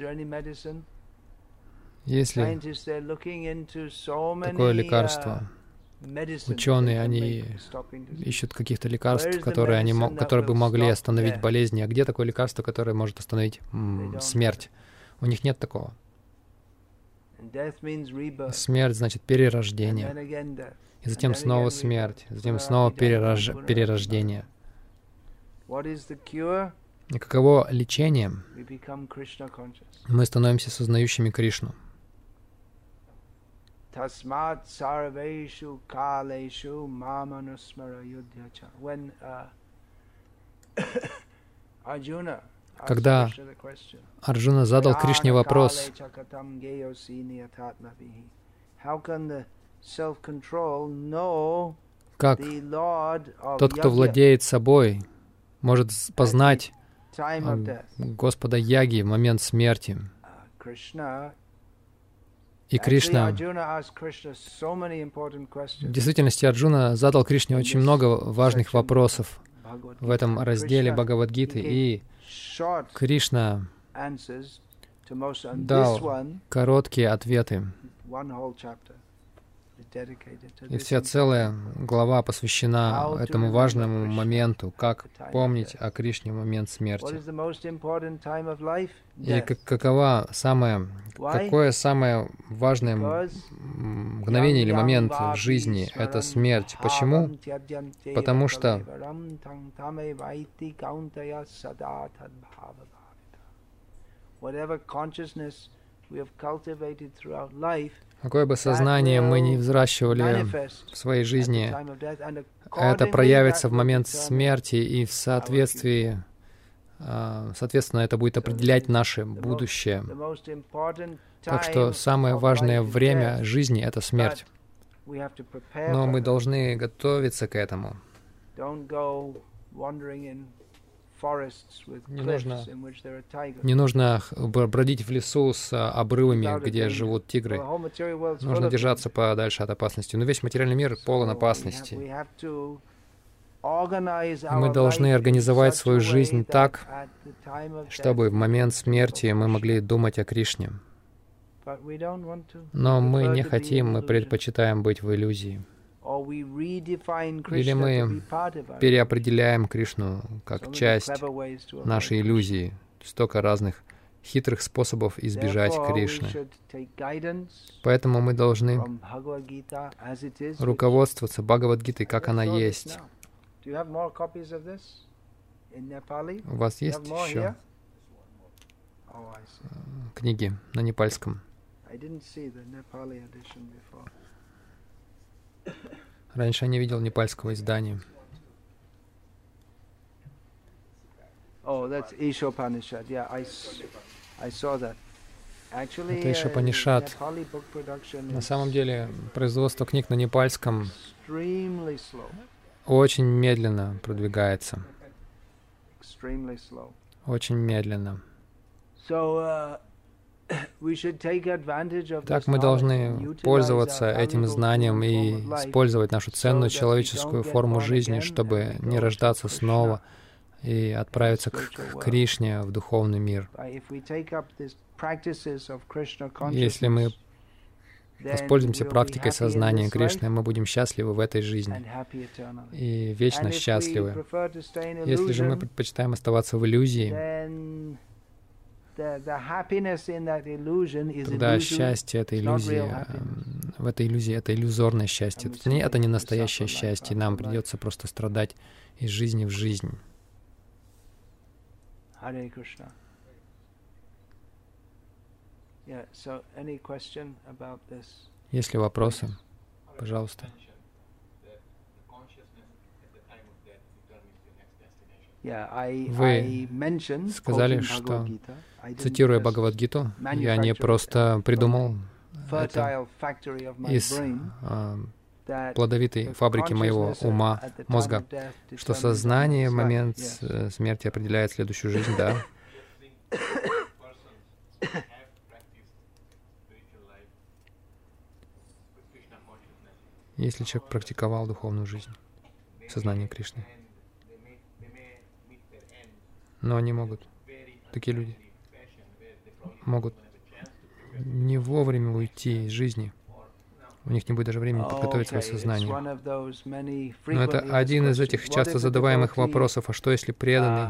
S2: Есть ли такое лекарство? Ученые, они ищут каких-то лекарств, которые бы могли остановить болезни. А где такое лекарство, которое может остановить смерть? У них нет такого. Смерть значит перерождение. И затем снова смерть, затем снова перерождение. И каково лечение? Мы становимся сознающими Кришну. Когда Арджуна задал Кришне вопрос, как тот, кто владеет собой, может познать Господа Яги в момент смерти, И Кришна, в действительности Арджуна задал Кришне очень много важных вопросов в этом разделе Бхагавад-гиты, и Кришна дал короткие ответы. И вся целая глава посвящена этому важному моменту, как помнить о Кришне в момент смерти. И какое самое важное мгновение или момент в жизни — это смерть. Почему? Потому что какое бы сознание мы ни взращивали в своей жизни, это проявится в момент смерти, и соответственно, это будет определять наше будущее. Так что самое важное время жизни — это смерть. Но мы должны готовиться к этому. Не нужно бродить в лесу с обрывами, где живут тигры. Нужно держаться подальше от опасности. Но весь материальный мир полон опасности. Мы должны организовать свою жизнь так, чтобы в момент смерти мы могли думать о Кришне. Но мы не хотим, мы предпочитаем быть в иллюзии. Или мы переопределяем Кришну как часть нашей иллюзии. Столько разных хитрых способов избежать Кришны. Поэтому мы должны руководствоваться Бхагавад-гитой, как она есть. У вас есть еще книги на непальском? Раньше я не видел непальского издания. Это Ишопанишад. На самом деле, производство книг на непальском очень медленно продвигается. Очень медленно. Так мы должны пользоваться этим знанием и использовать нашу ценную человеческую форму жизни, чтобы не рождаться снова и отправиться к Кришне, в духовный мир. Если мы воспользуемся практикой сознания Кришны, мы будем счастливы в этой жизни и вечно счастливы. Если же мы предпочитаем оставаться в иллюзии, тогда счастье — это иллюзия. В этой иллюзии это иллюзорное счастье. Это не настоящее счастье. Нам придется просто страдать из жизни в жизнь. Есть ли вопросы? Пожалуйста. Вы сказали, что, цитируя Бхагавад-гиту, я не просто придумал это из плодовитой фабрики моего ума, мозга, что сознание в момент смерти определяет следующую жизнь, да. Если человек практиковал духовную жизнь, сознание Кришны, но они могут, такие люди, могут не вовремя уйти из жизни. У них не будет даже времени подготовить свое сознание. Но это один из этих часто задаваемых вопросов: а что если преданный,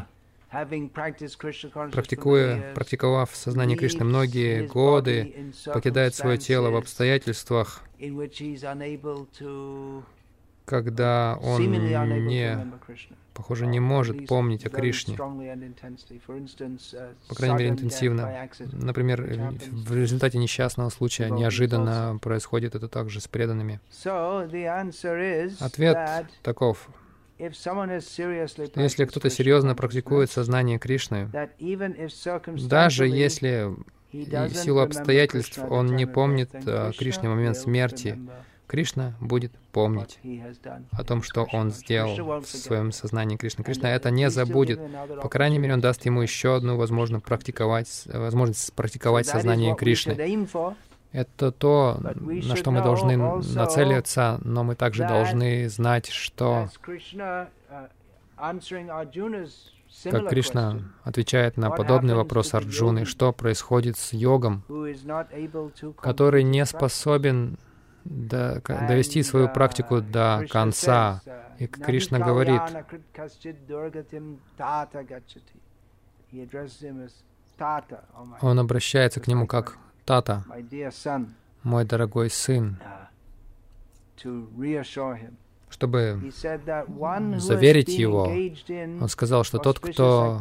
S2: практиковав сознание Кришны многие годы, покидает свое тело в обстоятельствах, когда он не может помнить о Кришне, по крайней мере, интенсивно. Например, в результате несчастного случая неожиданно происходит это также с преданными. Ответ таков: если кто-то серьезно практикует сознание Кришны, даже если в силу обстоятельств он не помнит о Кришне в момент смерти, Кришна будет помнить о том, что он сделал в своем сознании Кришны. Кришна это не забудет. По крайней мере, он даст ему еще одну возможность практиковать сознание Кришны. Это то, на что мы должны нацелиться, но мы также должны знать, что, как Кришна отвечает на подобный вопрос Арджуны, что происходит с йогом, который не способен довести свою практику до конца. И Кришна говорит, он обращается к нему как Тата, мой дорогой сын, чтобы заверить его. Он сказал, что тот, кто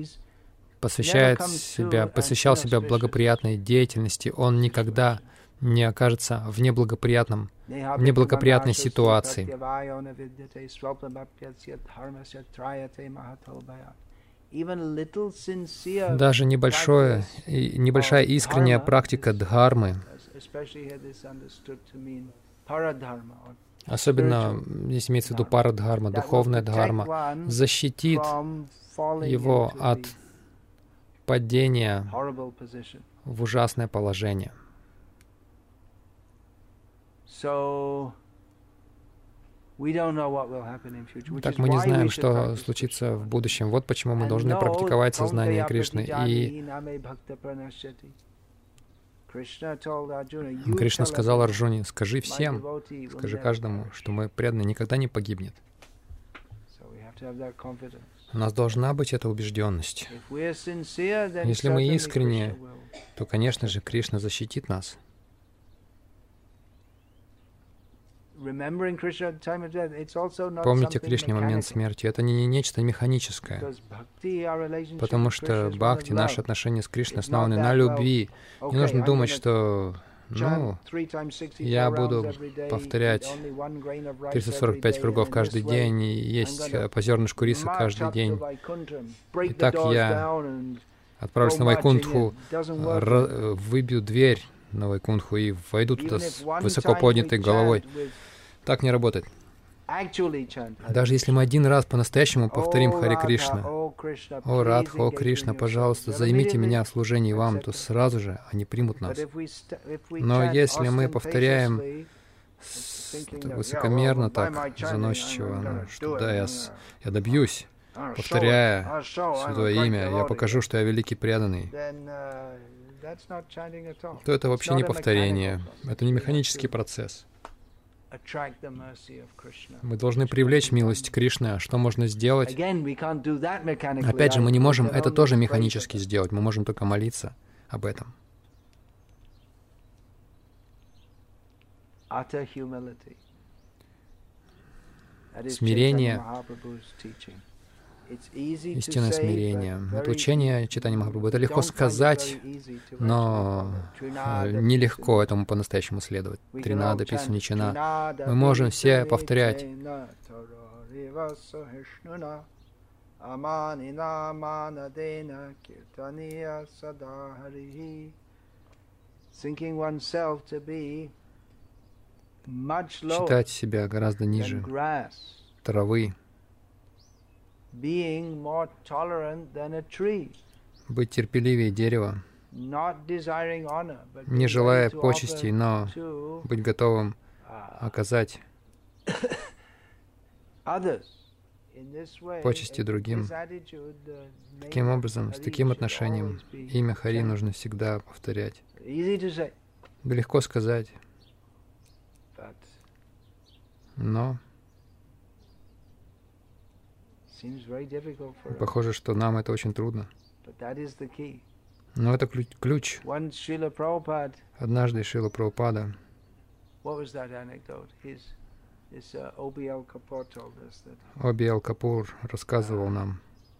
S2: посвящал себя благоприятной деятельности, он никогда не окажется в неблагоприятной ситуации. Даже небольшая искренняя практика дхармы, особенно, здесь имеется в виду парадхарма, духовная дхарма, защитит его от падения в ужасное положение. Так мы не знаем, что случится в будущем. Вот почему мы должны практиковать сознание Кришны. И Кришна сказал Арджуне, скажи всем, скажи каждому, что мой преданный никогда не погибнет. У нас должна быть эта убежденность. Если мы искренне, то, конечно же, Кришна защитит нас. Помните Кришне момент смерти. Это не нечто механическое, потому что бхакти, наши отношения с Кришной основаны на любви. Не нужно думать, что я буду повторять 345 кругов каждый день и есть по зернышку риса каждый день. Итак, я отправлюсь на Вайкунтху, выбью дверь на Вайкунтху и войду туда с высоко поднятой головой. Так не работает. Даже если мы один раз по-настоящему повторим Харе Кришна, «О Радха, о Кришна, пожалуйста, займите меня в служении вам», то сразу же они примут нас. Но если мы повторяем высокомерно, так, заносчиво, что да, я добьюсь, повторяя Святое Имя, я покажу, что я великий преданный, то это вообще не повторение, это не механический процесс. Мы должны привлечь милость Кришны. А что можно сделать? Опять же, мы не можем это тоже механически сделать. Мы можем только молиться об этом. Смирение, истинное смирение. Это учение Чайтаньи Махапрабху. Это легко сказать, но нелегко этому по-настоящему следовать. Тринада, Писуничана. Мы можем все повторять. Считать себя гораздо ниже травы. Быть терпеливее дерева, не желая почестей, но быть готовым оказать почести другим. Таким образом, с таким отношением имя Хари нужно всегда повторять. Да легко сказать, но похоже, что нам это очень трудно. Но это ключ. Однажды Шрила Прабхупада Оби-Эл Капур рассказывал нам,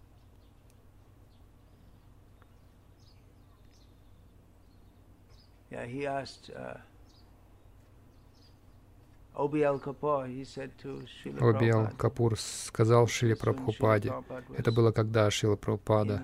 S2: Оби-Эл Капур сказал Шриле Прабхупаде, это было когда Шрила Прабхупада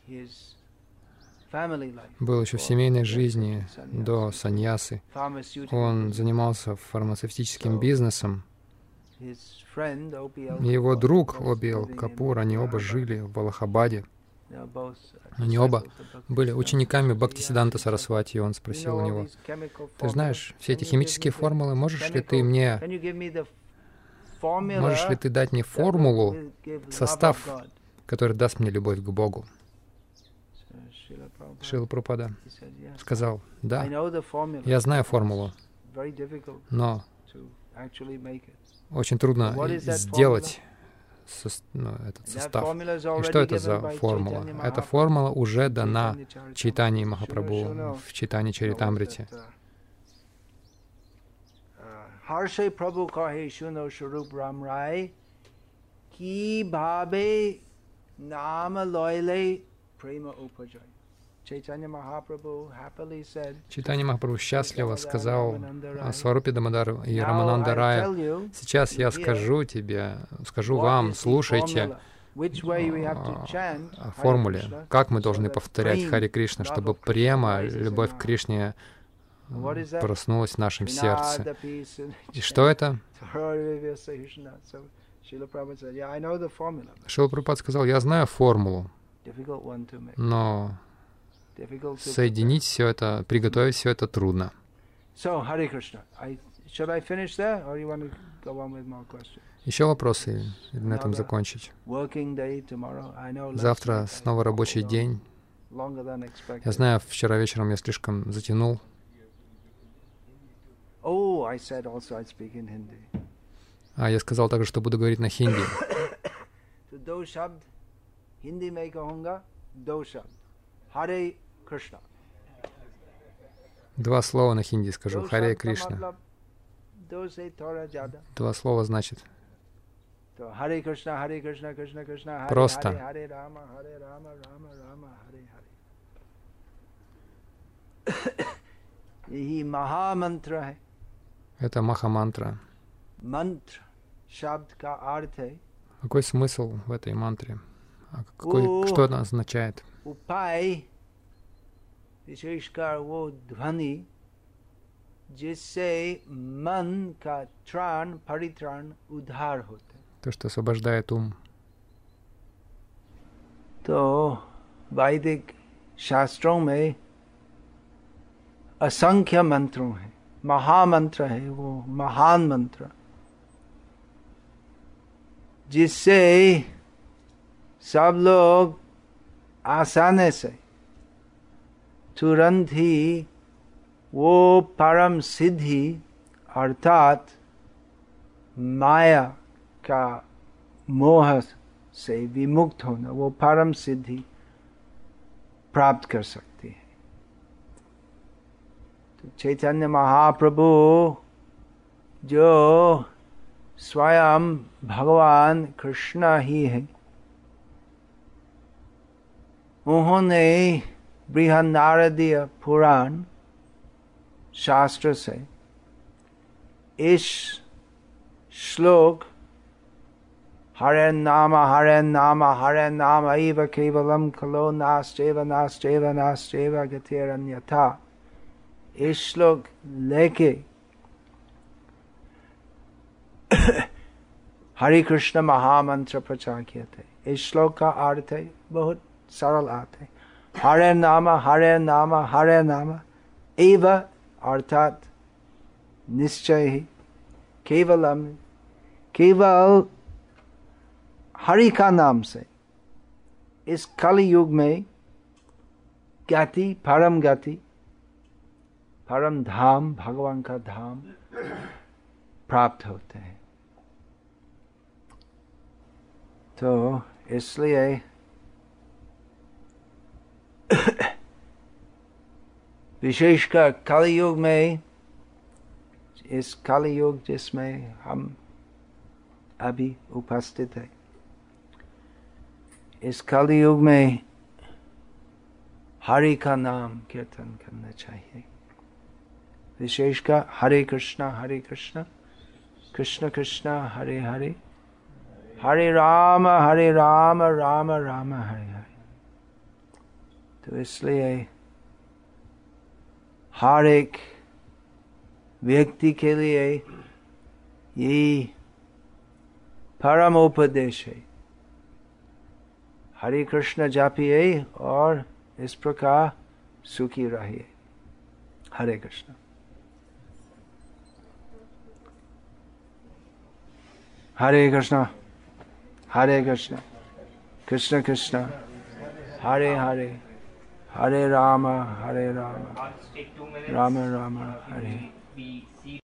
S2: был еще в семейной жизни до саньясы. Он занимался фармацевтическим бизнесом. Его друг Оби-Эл Капур, они оба жили в Аллахабаде. Они оба были учениками Бхактисиданта Сарасвати, и он спросил у него: «Ты знаешь все эти химические формулы, можешь ли ты дать мне формулу, состав, который даст мне любовь к Богу?» Шрила Прабхупада сказал: «Да, я знаю формулу, но очень трудно сделать этот состав». И что это за формула? Эта формула уже дана Чайтанье Махапрабху в Чайтанье Чаритамрите.
S1: Harshai Prabhu kahe shuno Swarup Ram Rai ki bhabe nama loyle prema upajay. Chaitanya Mahaprabhu happily said. Чайтанья Махапрабху счастливо сказал о Сварупе Дамодар и Рамананда Рая: «Сейчас я скажу вам, слушайте о формуле, как мы должны повторять Харе Кришна, чтобы према, любовь к Кришне, проснулась в нашем сердце». И что это? Шрила Прабхупада сказал: «Я знаю формулу, но соединить все это, приготовить все это трудно». Еще вопросы? Или на этом закончить? Завтра снова рабочий день. Я знаю, вчера вечером я слишком затянул. Я сказал также, что буду говорить на хинди. Два слова на хинди скажу. Харе Кришна. Два слова значит. Просто. Это махамантра. Какой смысл в этой мантре? Что это означает? То, что освобождает ум. То वैदिक शास्त्रों में असंख्य मंत्रों हैं, महामंत्र है वो, महान मंत्र, जिससे सब लोग आसानी से तुरंत ही वो परम सिद्धि अर्थात माया का मोह से विमुक्त होना, वो परम सिद्धि प्राप्त कर सकती है। तो चैतन्य महाप्रभु जो स्वयं भगवान कृष्ण ही है, उन्होंने बृहन्नारदीय पुराण शास्त्र से इस श्लोक हरे नाम हरे नाम हरे नाम एव केवलम खलो नास्तेव नास्तेव नास्तेव गतिरन्यथा, इस श्लोक लेके हरे कृष्ण महामंत्र प्रचार किए थे। इस श्लोक का अर्थ है बहुत सरल अर्थ है, हरे नाम हरे नाम एव अर्थात निश्चय ही, केवलम केवल हरि का नाम से इस कलि युग में गति, परम धाम, भगवान का धाम प्राप्त होते हैं। तो इसलिए विशेषकर कलि युग में, इस कलि युग जिसमें हम अभी उपस्थित है, इस कलि युग में हरि का नाम कीर्तन करना चाहिए। विशेषकर हरे कृष्णा कृष्ण कृष्ण हरे हरे, हरे राम राम राम हरे हरे। तो इसलिए हर एक व्यक्ति के लिए ये परम उपदेश है, हरे कृष्ण जापिए और इस प्रकार सुखी रहिए। हरे कृष्ण। हरे कृष्ण हरे कृष्ण कृष्ण कृष्ण हरे हरे, हरे राम राम राम राम हरे।